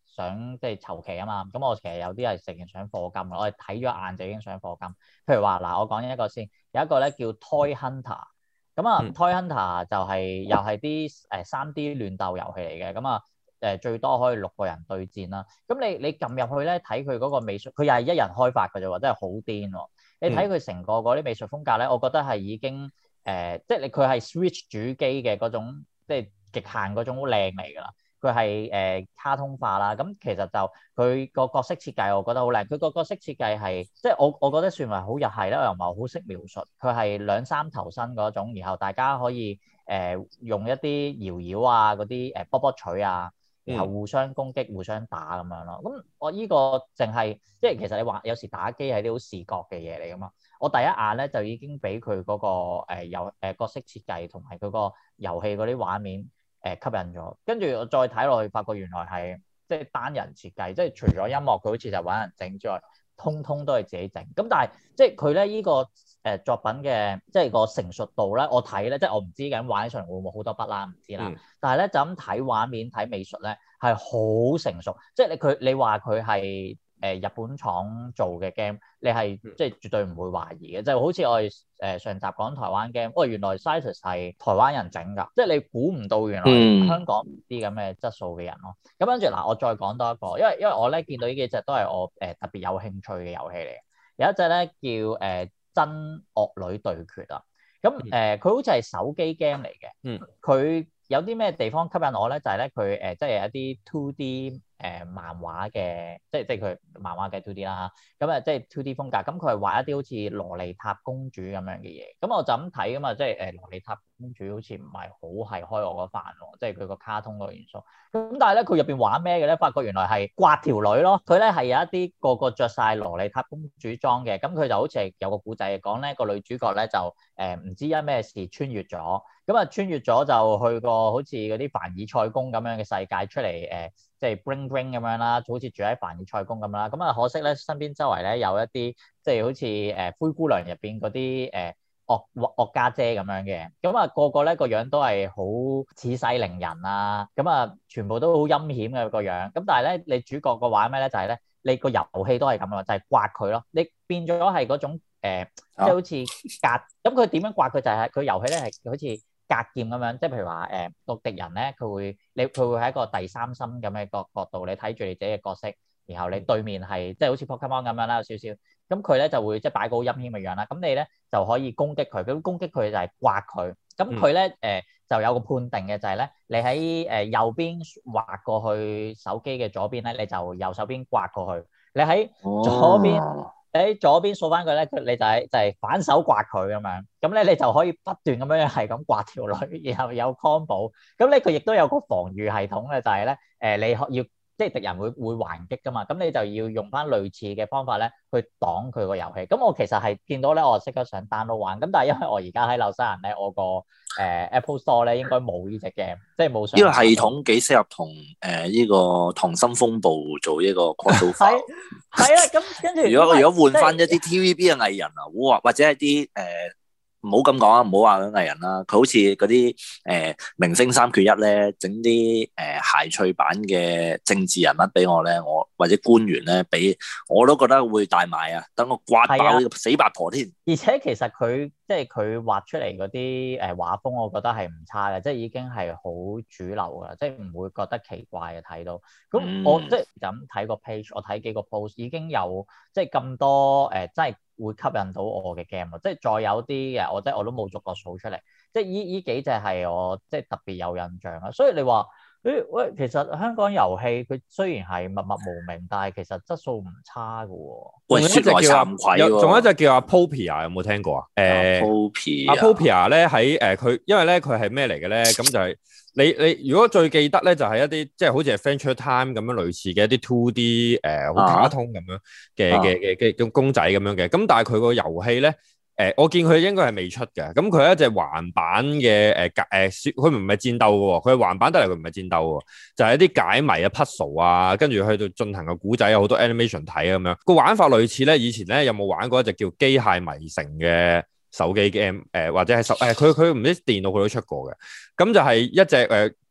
想即係籌期啊嘛，咁我其實有啲係成日想課金，我係睇咗一眼就已經想課金。譬如話嗱，我講一個先，有一個咧叫 Toy Hunter，咁啊、嗯、Toy Hunter 就係、是、又係啲誒三 D 亂鬥遊戲嚟嘅，咁啊誒最多可以六個人對戰啦。咁你你撳入去咧睇佢嗰個美術，佢又係一人開發嘅啫喎，真係好癲喎！你睇佢成個嗰啲美術風格咧，我覺得係已經誒、呃，即係你佢係 Switch 主機嘅嗰種，即係極限嗰種靚嚟㗎啦。佢係誒卡通化啦，咁其實就佢個角色設計我覺得好靚。佢個角色設計係即係我我覺得算係好日系啦，我又唔係好識描述。佢係兩三頭身嗰種，然後大家可以誒、呃、用一啲搖搖啊嗰啲誒波波錘啊，然後互相攻擊、互相打咁樣咯。咁我依個淨係即係其實你話有時打機係啲好視覺嘅嘢嚟㗎嘛。我第一眼咧就已經俾佢嗰個誒遊誒角色設計同埋佢個遊戲嗰啲畫面誒吸引咗，跟住我再睇落去，發覺原來係即係單人設計，即係除咗音樂佢好似就揾人整之外，通通都係自己整。咁但係即係佢咧依個誒作品嘅即係個成熟度咧，我睇咧即係我唔知緊玩起上嚟會唔會好多筆啦，唔知啦。嗯、但係咧就咁睇畫面睇美術咧係好成熟，即係你佢你話佢係誒日本廠做嘅 game，你係即係絕對唔會懷疑嘅，就好似我哋誒上集講台灣 game，喂原來 Cytus 係台灣人整㗎，即係你估唔到原來香港啲咁嘅質素嘅人咯。咁跟住嗱，我再講多一個，因為因為我咧見到呢幾隻都係我誒、呃、特別有興趣嘅遊戲嚟嘅，有一隻咧叫誒、呃、真惡女對決啊，咁誒佢好似係手機 game 嚟嘅，佢、嗯、有啲咩地方吸引我咧？就係咧佢誒即係有一啲 two D。誒、呃、漫畫嘅，即係即係佢漫畫嘅 two D 啦嚇，咁啊即係 two D 風格，咁佢係畫一啲好似蘿莉塔公主咁樣嘅嘢，咁我就咁睇噶嘛，即係誒蘿莉塔公主好似唔係好係開我嗰飯喎，即係佢個卡通個元素，咁但係咧佢入邊玩咩嘅咧？發覺原來係刮條女咯，佢咧係有一啲個個着晒蘿莉塔公主裝嘅，咁佢就好似係有個故仔講咧，個女主角咧就誒唔、呃、知因咩事穿越咗，咁啊穿越咗就去個好似嗰啲凡爾賽宮咁樣嘅世界出嚟誒。呃即係 bling bling 咁樣啦，就好似住喺凡爾賽宮咁啦。咁啊，可惜咧，身邊周圍咧有一啲即係好似誒灰姑娘入邊嗰啲誒惡惡家姐咁樣嘅。咁啊，個個咧個樣都係好似世靈人啊。咁啊，全部都好陰險嘅個樣。咁但係咧，你主角個玩咩咧？就係咧，你個遊戲都係咁啊，就係刮佢咯。你變咗係嗰種誒，即係好似隔。咁佢點樣刮佢？就係佢遊戲咧係好似隔劍咁樣，即係譬如話誒個敵人咧，佢會你佢會喺一個第三身咁嘅角角度，你睇住你自己嘅角色，然後你對面係即係好似 Pokemon 咁樣啦，有少少，咁佢咧就會即係擺個好陰險嘅樣啦，咁你咧就可以攻擊佢，咁攻擊佢就係刮佢，咁佢咧誒就有個判定嘅就係咧，你喺誒右邊滑過去手機嘅左邊咧，你就右手邊刮過去，你喺左邊。哦喺左邊掃翻佢咧，佢你就係就係反手刮佢咁樣，咁咧你就可以不斷咁樣係咁刮條女，然後有 combo，咁咧佢亦都有個防禦系統嘅，就係咧誒你要即係敵人會會還擊噶嘛，咁你就要用翻類似嘅方法咧去擋佢個遊戲。咁我其實係見到咧，我即刻想 download 玩，咁但係因為我而家喺紐西蘭咧，我個誒、呃、Apple Store 咧應該冇呢隻 game，即係冇上。呢個系統幾適合同誒呢個《溏心風暴》做一個 crossover。 係啊，咁跟住如果如果換翻一啲 T V B 嘅藝人啊，哇，或者係啲誒。呃唔好咁講啊，唔好話嗰藝人啦，佢好似嗰啲誒明星三缺一咧，整啲誒諧趣版嘅政治人物俾我咧，我或者官員咧俾我都覺得會大賣啊！等我刮爆呢個死八婆添。 而且其實佢即係佢畫出嚟嗰啲誒畫風，我覺得係唔差嘅，即係已經係好主流㗎，即係唔會覺得奇怪嘅睇到。咁、嗯、我即係咁睇個 page，我睇幾個 post 已經有即係咁多誒，真、呃、係。會吸引到我嘅 game 啊！即係再有啲嘅，我即係我都冇逐個數出嚟。即係依依幾隻係我即係特別有印象啊！所以你話誒喂，其實香港遊戲佢雖然係默默無名，但係其實質素唔差㗎喎。 喂，說來慚愧喎！ 仲有一隻叫阿 Popia，有冇聽過啊？誒 Popia 阿 Popia 咧喺誒佢，因為咧佢係咩嚟嘅咧？咁就係、是。你你如果最記得咧，就係、是、一啲即係好似係 Adventure Time 咁樣類似嘅一啲 two D 誒好卡通咁樣嘅嘅嘅嘅公仔咁樣嘅。咁但係佢個遊戲咧誒，我見佢應該係未出嘅。咁佢係一隻橫版嘅誒誒，佢唔係戰鬥嘅喎，佢係橫版得嚟佢唔係戰鬥喎，就係、是、一啲解謎啊 puzzle 啊，跟住去到進行個古仔有好多 animation 睇咁樣。個玩法類似咧，以前咧有冇玩過一隻叫機械迷城嘅手機 game 誒、呃，或者係手誒，佢佢唔知電腦佢都出過嘅，咁就係一隻誒、呃、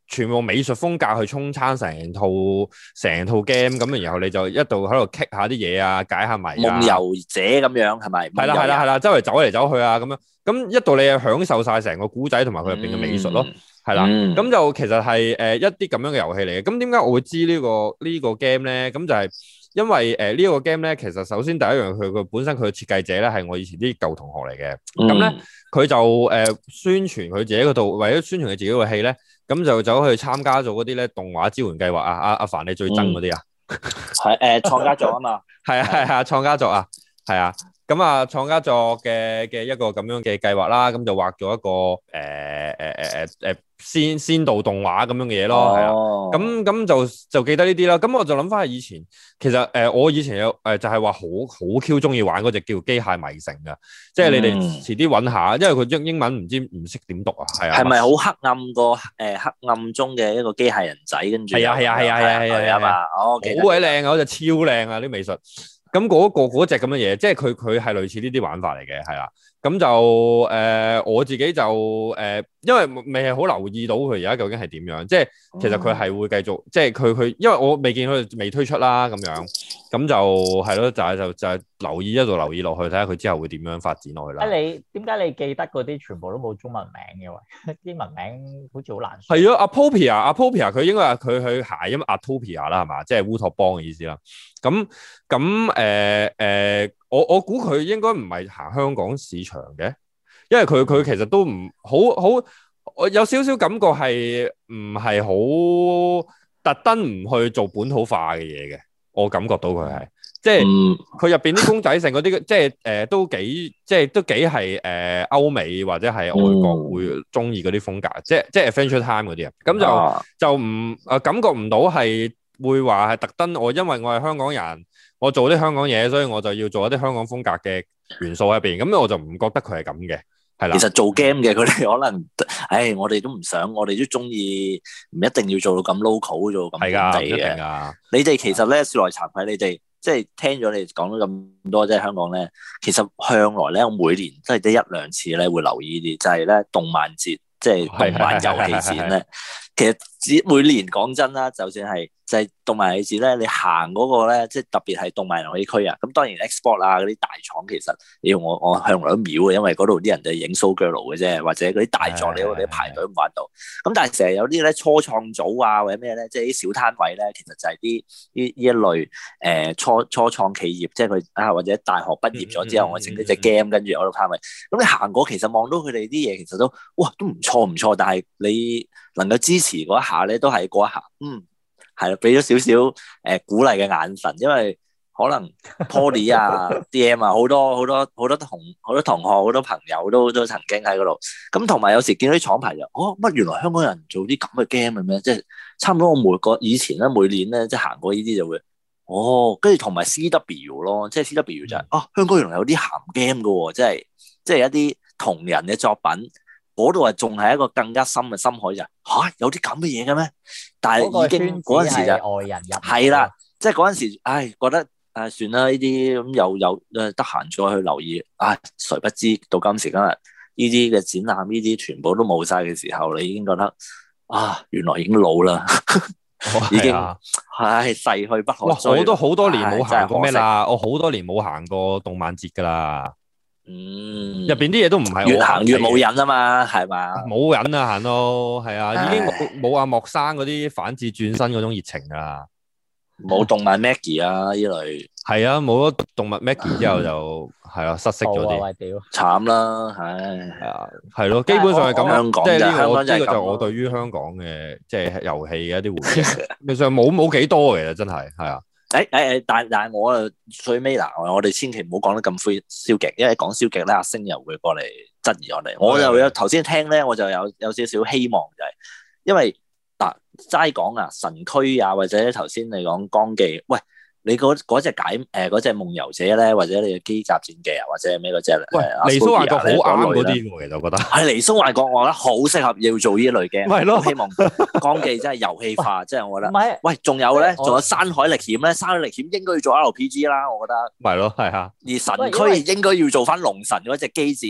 全部美術風格去沖餐成套成套 game， 咁然後你就一度喺度 kick 下啲嘢啊，解下謎啊， 夢遊者咁樣係咪？ 係啦係啦係啦，周圍走嚟走去啊咁樣，咁一度你又享受晒成個古仔同埋佢入邊嘅美術咯。嗯係啦，咁、嗯、就其實係誒、呃、一啲咁樣嘅遊戲嚟嘅。咁點解我會知、這個這個、呢個呢個 game 咧？咁就係因為誒、呃這個、呢個 game 咧，其實首先第一樣佢佢本身佢嘅設計者咧係我以前啲舊同學嚟嘅。咁咧佢就誒、呃、宣傳佢自己嗰度，為咗宣傳佢自己個戲咧，咁就走去參加咗嗰啲咧動畫支援計劃啊！阿阿凡你最憎嗰啲啊？ 係誒創家作啊嘛， 係啊係啊創家作啊，係啊。咁啊，創家作嘅嘅一個咁樣嘅計劃啦，咁就畫咗一個誒誒誒誒誒先先導動畫咁樣嘅嘢咯，係啊、哦，咁咁就就記得呢啲啦。咁我就諗翻起以前，其實誒、呃、我以前有誒、呃、就係話好好 Q 中意玩嗰隻叫機械迷城噶，即係你哋遲啲揾下，因為佢英英文唔知唔識點讀啊，係啊。係咪好黑暗個誒黑暗中嘅一個機械人仔跟住？係啊係啊係啊係啊係啊嘛，哦，好鬼靚啊，嗰隻超靚啊啲美術。咁嗰、那個嗰隻咁嘅嘢，即係佢佢係類似呢啲玩法嚟嘅，係啦。咁就誒、呃、我自己就誒、呃，因為未係好留意到佢而家究竟係點樣。即係其實佢係會繼續，即係佢佢，因為我未見佢未推出啦，咁樣咁就係咯，就係就就係留意一路留意落去，睇下佢之後會點樣發展落去啦。啊，你點解你記得嗰啲全部都冇中文名嘅喎？英文名好似好難。 係啊，Apopia，Apopia 佢應該係佢去諧音 Atopia 啦，係嘛？即係烏托邦嘅意思啦。咁咁誒誒，我我估佢應該唔係行香港市場嘅，因為佢佢其實都唔好好，我有少少感覺係唔係好特登唔去做本土化嘅嘢嘅，我感覺到佢係即係佢入邊啲公仔性嗰啲，即係誒、呃、都幾即係都幾係誒歐美或者係外國會中意嗰啲風格，嗯、即係即係 Adventure Time 嗰啲啊，咁就、啊、就唔誒感覺唔到係。會話係特登，我因為我係香港人，我做啲香港嘢，所以我就要做一啲香港風格嘅元素入邊，咁我就唔覺得佢係咁嘅，係啦。其實做 game 嘅佢哋可能，唉，我哋都唔想，我哋都中意，唔一定要做到咁 local 做咁本地嘅。係噶，你哋其實咧，說來慚愧，你哋即係聽咗你哋講咗咁多，即係香港咧，其實向來咧，我每年即係得一兩次咧會留意啲，就係咧動漫節，即係動漫遊戲展咧。其實只每年講真啦，就算係就係動漫遊戲展咧，你行嗰個咧，即係特別係動漫遊戲區啊。咁當然 export 啊嗰啲大廠其實，要我我向來都秒嘅，因為嗰度啲人就影 show girl 嘅啫，或者嗰啲大作你你排隊唔玩到。咁但係成日有啲咧初創組啊或者咩咧，即係啲小攤位咧，其實就係啲呢呢一類誒、呃、初初創企業，即係佢啊或者大學畢業咗之後，我整呢隻 game 跟住我度攤位。咁你行過其實望到佢哋啲嘢，其實都哇都唔錯唔錯，但係你能夠支持嗰一下咧，都係嗰一下，嗯，係啦，俾咗少少誒鼓勵嘅眼神，因為可能 Poly 啊、D M 啊，好多好多好多同好多同學、好多朋友都都曾經喺嗰度。咁同埋有時見到啲廠牌就，哦，乜原來香港人做啲咁嘅 game 嘅咩？即係差唔多我每個以前咧，每年咧即係行過呢啲就會，哦，跟住同埋 C W 咯，即係 C W 就係、是，啊，香港原來有啲鹹 game 嘅喎，即係即係一啲同人嘅作品。嗰度啊，仲係一個更加深嘅深海就嚇、啊，有啲咁嘅嘢嘅咩？但係已經嗰陣時就外人入係啦，即係嗰陣時，唉，覺得誒算啦，呢啲咁又有誒得閒再去留意，唉，誰不知到今時今日呢啲嘅展覽，呢啲全部都冇晒嘅時候，你已經覺得啊，原來已經老啦，哦、已經唉逝去不可追。哇！我都好多年冇行過咩啦，我好多年冇行過動漫節㗎啦。嗯，入邊啲嘢都唔係越行越冇癮啊嘛，係嘛？冇癮啊，行到係啊，已經冇冇阿莫生嗰啲反智轉身嗰種熱情啊，冇動漫 Maggie 啊呢類，係啊，冇咗動物 Maggie 之後就係啊失色咗啲，慘啦，唉，係啊，係咯，基本上係咁樣，即係呢個呢個就我對於香港嘅即係遊戲嘅一啲回憶，其實冇冇幾多嘅，真係係啊。誒誒誒，但但係我啊最尾嗱，我哋千祈唔好講得咁灰消極，因為講消極咧，阿星又會過嚟質疑我哋。我就有頭先聽咧，我就有有少少希望就係，因為嗱齋講啊神區啊，或者頭先你講光記，喂。你嗰嗰隻解誒嗰隻夢遊者咧，或者你嘅機甲戰記啊，或者咩嗰隻咧？喂，尼蘇幻覺好啱嗰啲喎，其實我覺得係尼蘇幻覺，我覺得好適合要做呢類嘅。係咯，希望光記真係遊戲化，即係我覺得。唔係，喂，仲有咧，仲有山海歷險咧，山海歷險應該要做 R P G 啦，我覺得。係咯，係啊。而神區應該要做翻龍神嗰隻機戰。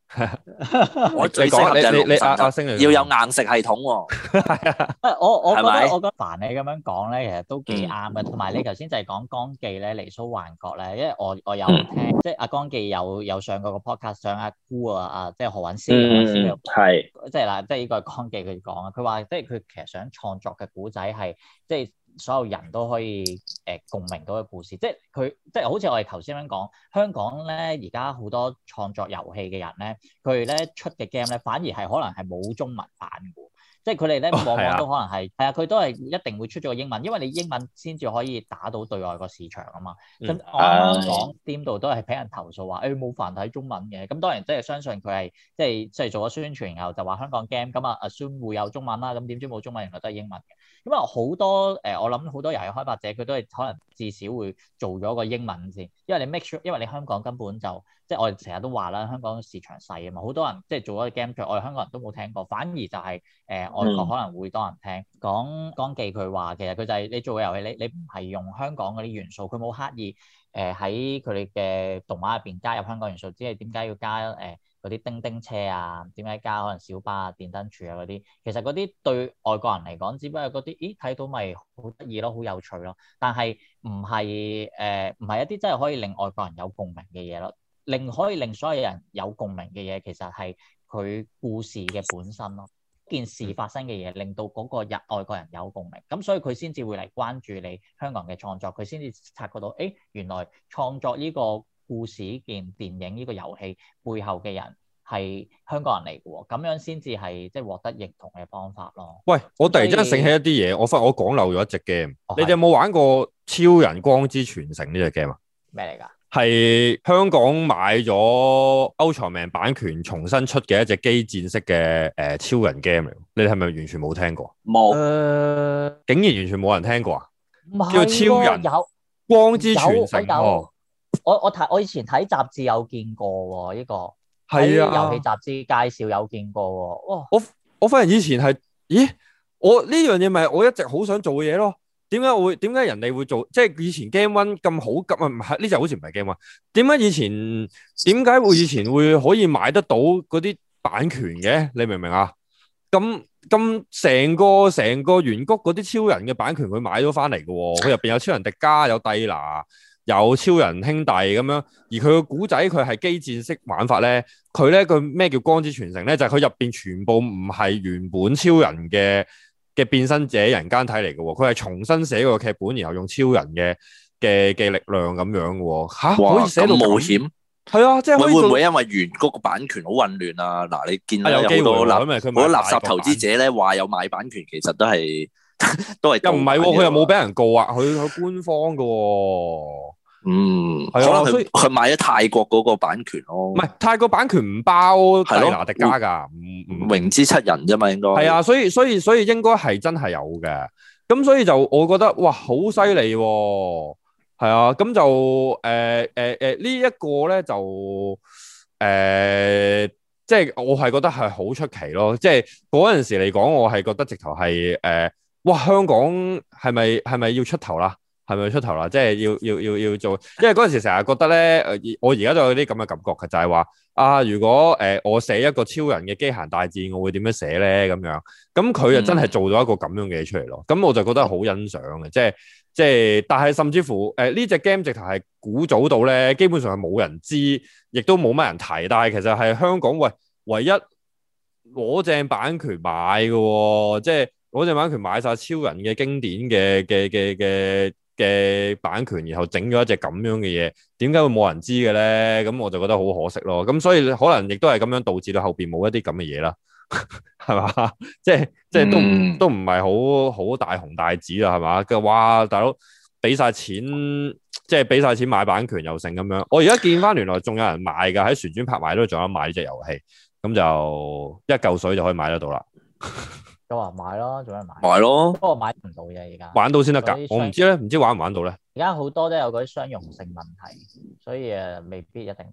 我最適合就係龍神阿阿星要有硬食系統喎。 係啊，我我覺得係咪我覺得凡你咁樣講咧，其實都幾啱嘅。同埋你頭先就係講江記咧，離騷幻覺咧，因為我我有聽，即係阿江記有有上過個 podcast，上阿姑啊啊，即係何韻詩嘅， 係即係嗱，即係呢個係江記佢講啊，佢話即係佢其實想創作嘅古仔係即係。所有人都可以誒、呃、共鳴到嘅故事，即係佢即係好似我哋頭先咁講，香港咧而家好多創作遊戲嘅人咧，佢哋咧出嘅 game 咧反而係可能係冇中文版嘅，即係佢哋咧往往都可能係係啊，佢都係一定會出咗個英文，因為你英文先至可以打到對外個市場啊嘛。咁、嗯、我啱啱講 Steam 度都係俾人投訴話誒冇繁體中文嘅，咁當然即係相信佢係即係即係做咗宣傳，然後就話香港 game 咁啊 assume 會有中文啦，咁點知冇中文，原來都係英文嘅。咁啊好多誒、呃，我諗好多遊戲開發者佢都係可能至少會做咗個英文先，因為你 make sure，因為你香港根本就即係我哋成日都話啦，香港市場細啊嘛，好多人即係做咗個 game，我哋香港人都冇聽過，反而就係、是、誒、呃、外國可能會多人聽。講江記佢話，其實佢就係你做嘅遊戲，你你唔係用香港嗰啲元素，佢冇刻意誒喺佢哋嘅動畫入邊加入香港元素，只係點解要加誒？呃嗰啲叮叮車啊，點解加可能小巴啊、電燈柱啊嗰啲，其實嗰啲對外國人嚟講，只不過嗰啲，咦睇到咪好得意咯，好有趣咯。但係唔係誒，唔係一啲真係可以令外國人有共鳴嘅嘢咯。令可以令所有人有共鳴嘅嘢，其實係佢故事嘅本身咯。件事發生嘅嘢，令到嗰個日外國人有共鳴，咁所以佢先至會嚟關注你香港嘅創作，佢先至察覺到，誒原來創作呢個故事、呢件電影、呢個遊戲背後嘅人係香港人嚟嘅喎，咁樣先至係即係獲得認同嘅方法咯。 喂，我突然之間醒起一啲嘢，我發我講漏咗一隻 game， 哦、 你哋有冇玩過《超人光之傳承》呢隻 game 啊？ 咩嚟㗎？ 係香港買咗 Ultraman 版權重新出嘅一隻機戰式嘅誒、呃、超人 game 嚟，你哋係咪完全冇聽過？ 冇沒，誒、 呃， 竟然完全冇人聽過啊！ 係叫超人有光之傳承， 哦、我我睇我以前睇雜誌有見過喎，呢、這個係啊， 遊戲雜誌介紹有見過喎。哇！ 我我發現以前係，咦？我呢樣嘢咪我一直好想做嘅嘢咯。點解會？點解人哋會做？即係以前 Game One 咁好急啊？唔係呢隻好似唔係 Game One。點解以前？點解會以前會可以買得到嗰啲版權嘅？你明唔明啊？咁咁成個成個圓谷嗰啲超人嘅版權佢買咗翻嚟嘅喎，佢入邊有超人迪迦，有蒂娜，有超人兄弟咁樣。而佢個古仔佢係機戰式玩法咧，佢咧個咩叫光之傳承咧？就係佢入邊全部唔係原本超人嘅。嘅變身者人間體嚟嘅喎，佢係重新寫個劇本，然後用超人嘅嘅嘅力量咁樣嘅喎，嚇哇可以寫到冒險， 係啊，即係會唔會因為原嗰個版權好混亂啊？嗱，你見到有好多垃好多垃圾投資者咧話有買版權，其實都係都係又唔係喎，佢又冇俾人告啊，佢佢官方嘅喎。 嗯，可能佢佢買咗泰國嗰個版權咯， 唔係泰國版權唔包蒂娜迪迦㗎，唔唔榮之七人啫嘛，應該係啊，所以所以所以應該係真係有嘅，咁所以就我覺得哇，好犀利喎，係啊，咁就誒誒誒呢一個咧就誒、呃，即係我係覺得係好出奇咯，即係嗰陣時嚟講，我係覺得直頭係誒，哇，香港係咪係咪要出頭啦？係咪出頭啦？即係要要要要做，因為嗰陣時成日覺得咧，誒，我而家都有啲咁嘅感覺嘅，就係話啊，如果誒、呃、我寫一個超人嘅機械大戰，我會點樣寫咧？咁樣，咁佢就真係做咗一個咁樣嘅嘢出嚟咯。咁、嗯、我就覺得好欣賞嘅，即係即係，但係甚至乎誒呢隻 game 直頭係古早到咧，基本上係冇人知，亦都冇乜人提。但係其實係香港喂唯一攞正版權買嘅喎、哦，即係攞正版權買晒超人嘅經典嘅嘅嘅嘅嘅版權，然後整咗一隻咁樣嘅嘢，點解會冇人知嘅咧？咁我就覺得好可惜咯。咁所以可能亦都係咁樣導致到後邊冇一啲咁嘅嘢啦，係嘛？即係即係都唔都唔係好好大紅大紫啦，係嘛？嘅哇，大佬俾晒錢，即係俾晒錢買版權又成咁樣。我而家見翻原來仲有人賣㗎，喺旋轉拍賣都仲有買呢隻遊戲，咁就一嚿水就可以買得到啦。 有人買咯，仲有人買。 買咯， 不過買唔到嘅而家。玩到先得㗎，我唔知咧，唔知玩唔玩到咧。 而家好多都有嗰啲相容性問題，所以誒未必一定得。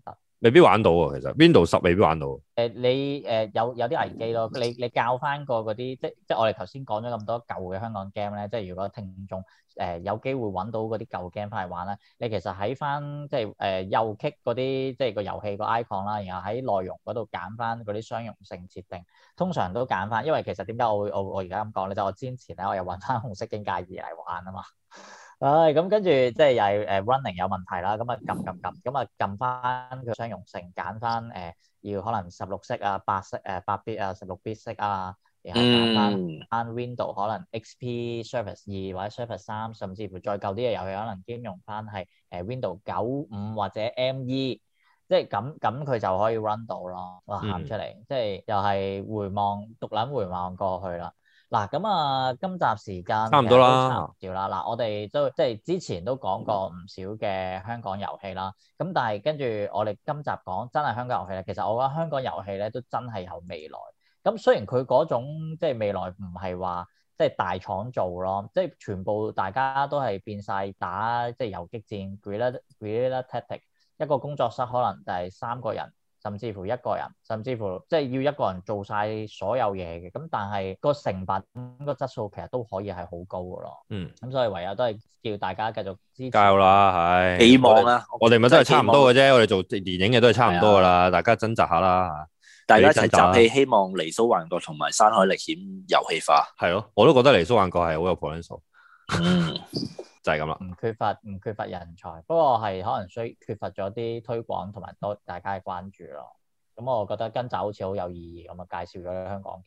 未必玩到喎。其實 Windows 十未必玩到。誒、 呃，你誒、呃、有有啲危機咯。你你教翻個嗰啲，即即我哋頭先講咗咁多舊嘅香港 game 咧，即如果聽眾誒、呃、有機會揾到嗰啲舊 game 翻嚟玩咧，你其實喺翻即誒、呃、右 click 嗰啲即係個遊戲個 icon 啦，然後喺內容嗰度揀翻嗰啲相容性設定，通常都揀翻，因為其實點解我會我我而家咁講咧？就我之前咧我又揾翻紅色警戒二嚟玩啊嘛。唉，咁跟住即係又係誒 running 有問題啦，咁啊撳撳撳，咁啊撳翻佢相容性，揀翻誒要可能十六色啊、八色誒八 bit 啊、十六 bit 色啊，然後揀翻翻 Windows 可能 X P Surface 二或者 Surface 三，甚至乎再舊啲嘅遊戲可能兼容翻係誒 Windows 九五或者 M E， 即係咁咁佢就可以 run 到咯。哇，喊出嚟，嗯、即係又係回望獨撚回望過去啦。嗱咁啊，今集時間差唔多啦， 差唔多啦。嗱，我哋都即係之前都講過唔少嘅香港遊戲啦。咁但係跟住我哋今集講真係香港遊戲咧，其實我覺得香港遊戲咧都真係有未來。咁雖然佢嗰種即係未來唔係話即係大廠做咯，即係全部大家都係變晒打即係遊擊戰 Guerrilla Guerrilla Tactics，一個工作室可能就係三個人。甚至乎一個人，甚至乎即係要一個人做晒所有嘢嘅，咁但係個成品、個質素其實都可以係好高嘅咯。 嗯， 咁所以唯有都係叫大家繼續支持。 加油啦，係希望啦。 我哋咪都係差唔多嘅啫，我哋做電影嘅都係差唔多噶啦，大家掙扎下啦。 大家一齊集氣，希望離騷幻覺同埋山海歷險遊戲化。 係咯，我都覺得離騷幻覺係好有 potential。 嗯。 就係咁啦， 唔缺乏唔缺乏人才，不過係可能需缺乏咗啲推廣同埋多大家嘅關注咯。咁我覺得今集好似好有意義咁啊，介紹咗香港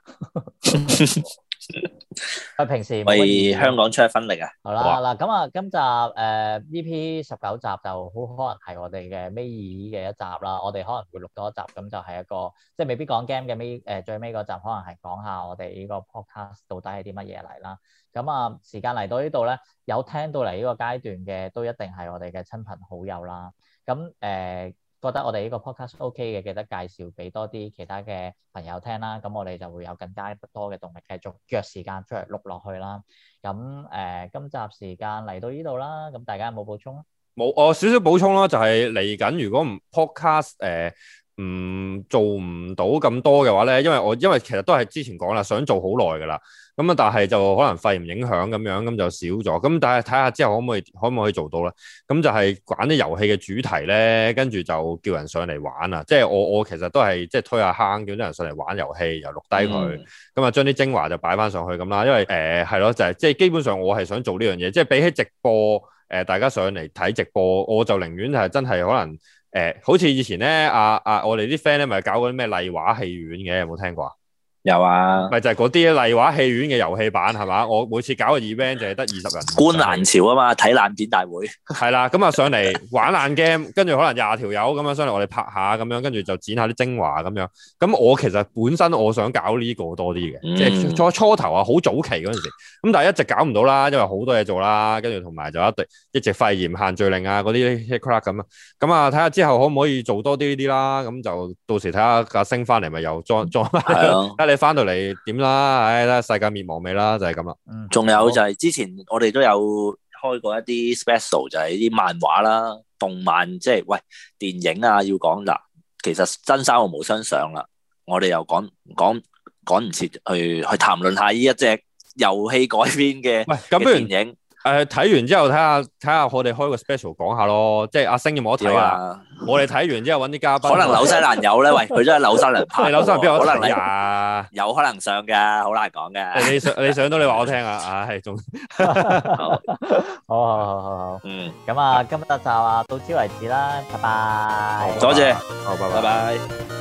game。佢平時為香港出一分力啊！ 好啦，嗱咁啊，今集誒、呃、E P 十九集就好可能係我哋嘅尾二嘅一集啦。我哋可能會錄多一集，咁就係一個即係未必講 game 嘅尾誒最尾嗰集，可能係講下我哋呢個 podcast 到底係啲乜嘢嚟啦。咁啊，時間嚟到呢度咧，有聽到嚟呢個階段嘅都一定係我哋嘅親朋好友啦。咁誒、呃、覺得我哋呢個 podcast OK 嘅，記得介紹俾多啲其他嘅朋友聽啦。咁我哋就會有更加多嘅動力繼續約時間出嚟錄落去啦。咁誒、呃，今集時間嚟到呢度啦。咁大家有冇補充啊？ 冇，我少少補充啦，就係嚟緊如果唔 podcast 誒、呃。唔、嗯、做唔到咁多嘅話咧，因為我因為其實都係之前講啦，想做好耐噶啦，咁啊但係就可能肺炎影響咁樣，咁就少咗。咁但係睇下之後可唔可以可唔可以做到咧？咁就係揀啲遊戲嘅主題咧，跟住就叫人上嚟玩啊！即係我我其實都係即係推下坑，叫啲人上嚟玩遊戲，又錄低佢，咁啊將啲精華就擺翻上去咁啦。因為誒係咯，就係即係基本上我係想做呢樣嘢，即係比起直播誒、呃、大家上嚟睇直播，我就寧願係真係可能。誒、欸，好似以前咧，啊啊，我哋啲 friend 咧，咪搞嗰啲咩麗畫戲院嘅，有冇聽過啊？ 有啊， 咪就係嗰啲麗畫戲院嘅遊戲版係嘛？我每次搞個 event 就係得二十人。觀瀾潮啊嘛，睇爛片大會。係啦，咁啊上嚟玩爛 game，跟住可能廿條友咁樣上嚟，我哋拍下咁樣，跟住就剪下啲精華咁樣。咁我其實本身我想搞呢個多啲嘅，嗯、即係初初頭啊，好早期嗰陣時，咁但係一直搞唔到啦，因為好多嘢做啦，跟住同埋就一直一直肺炎限聚令啊嗰啲 hit crack 咁啊。咁啊睇下之後可唔可以做多啲呢啲啦？咁就到時睇下阿星翻嚟咪又裝裝翻。你翻到嚟點啦？唉、哎，世界滅亡未啦？就係咁啦。 仲有就係之前我哋都有開過一啲 special，就係啲漫畫啦、動漫，即係喂電影啊，要講嗱，其實真三國無雙上啦，我哋又講講趕唔切去去談論下呢一隻遊戲改編嘅嘅電影。 誒，睇、呃、完之後睇下睇下我哋開個 special 講下咯，即係阿星有冇得睇啊？我哋睇完之後揾啲嘉賓， 可能紐西蘭有咧，喂，佢都係紐西蘭拍， 紐西蘭邊有得睇啊？有可能上㗎，好難講嘅。 你上你上到你話我聽啊，唉、哎，仲好，好好好好，嗯，咁啊，今日就啊到此為止啦，拜拜， 多謝， 好，拜拜。 拜拜。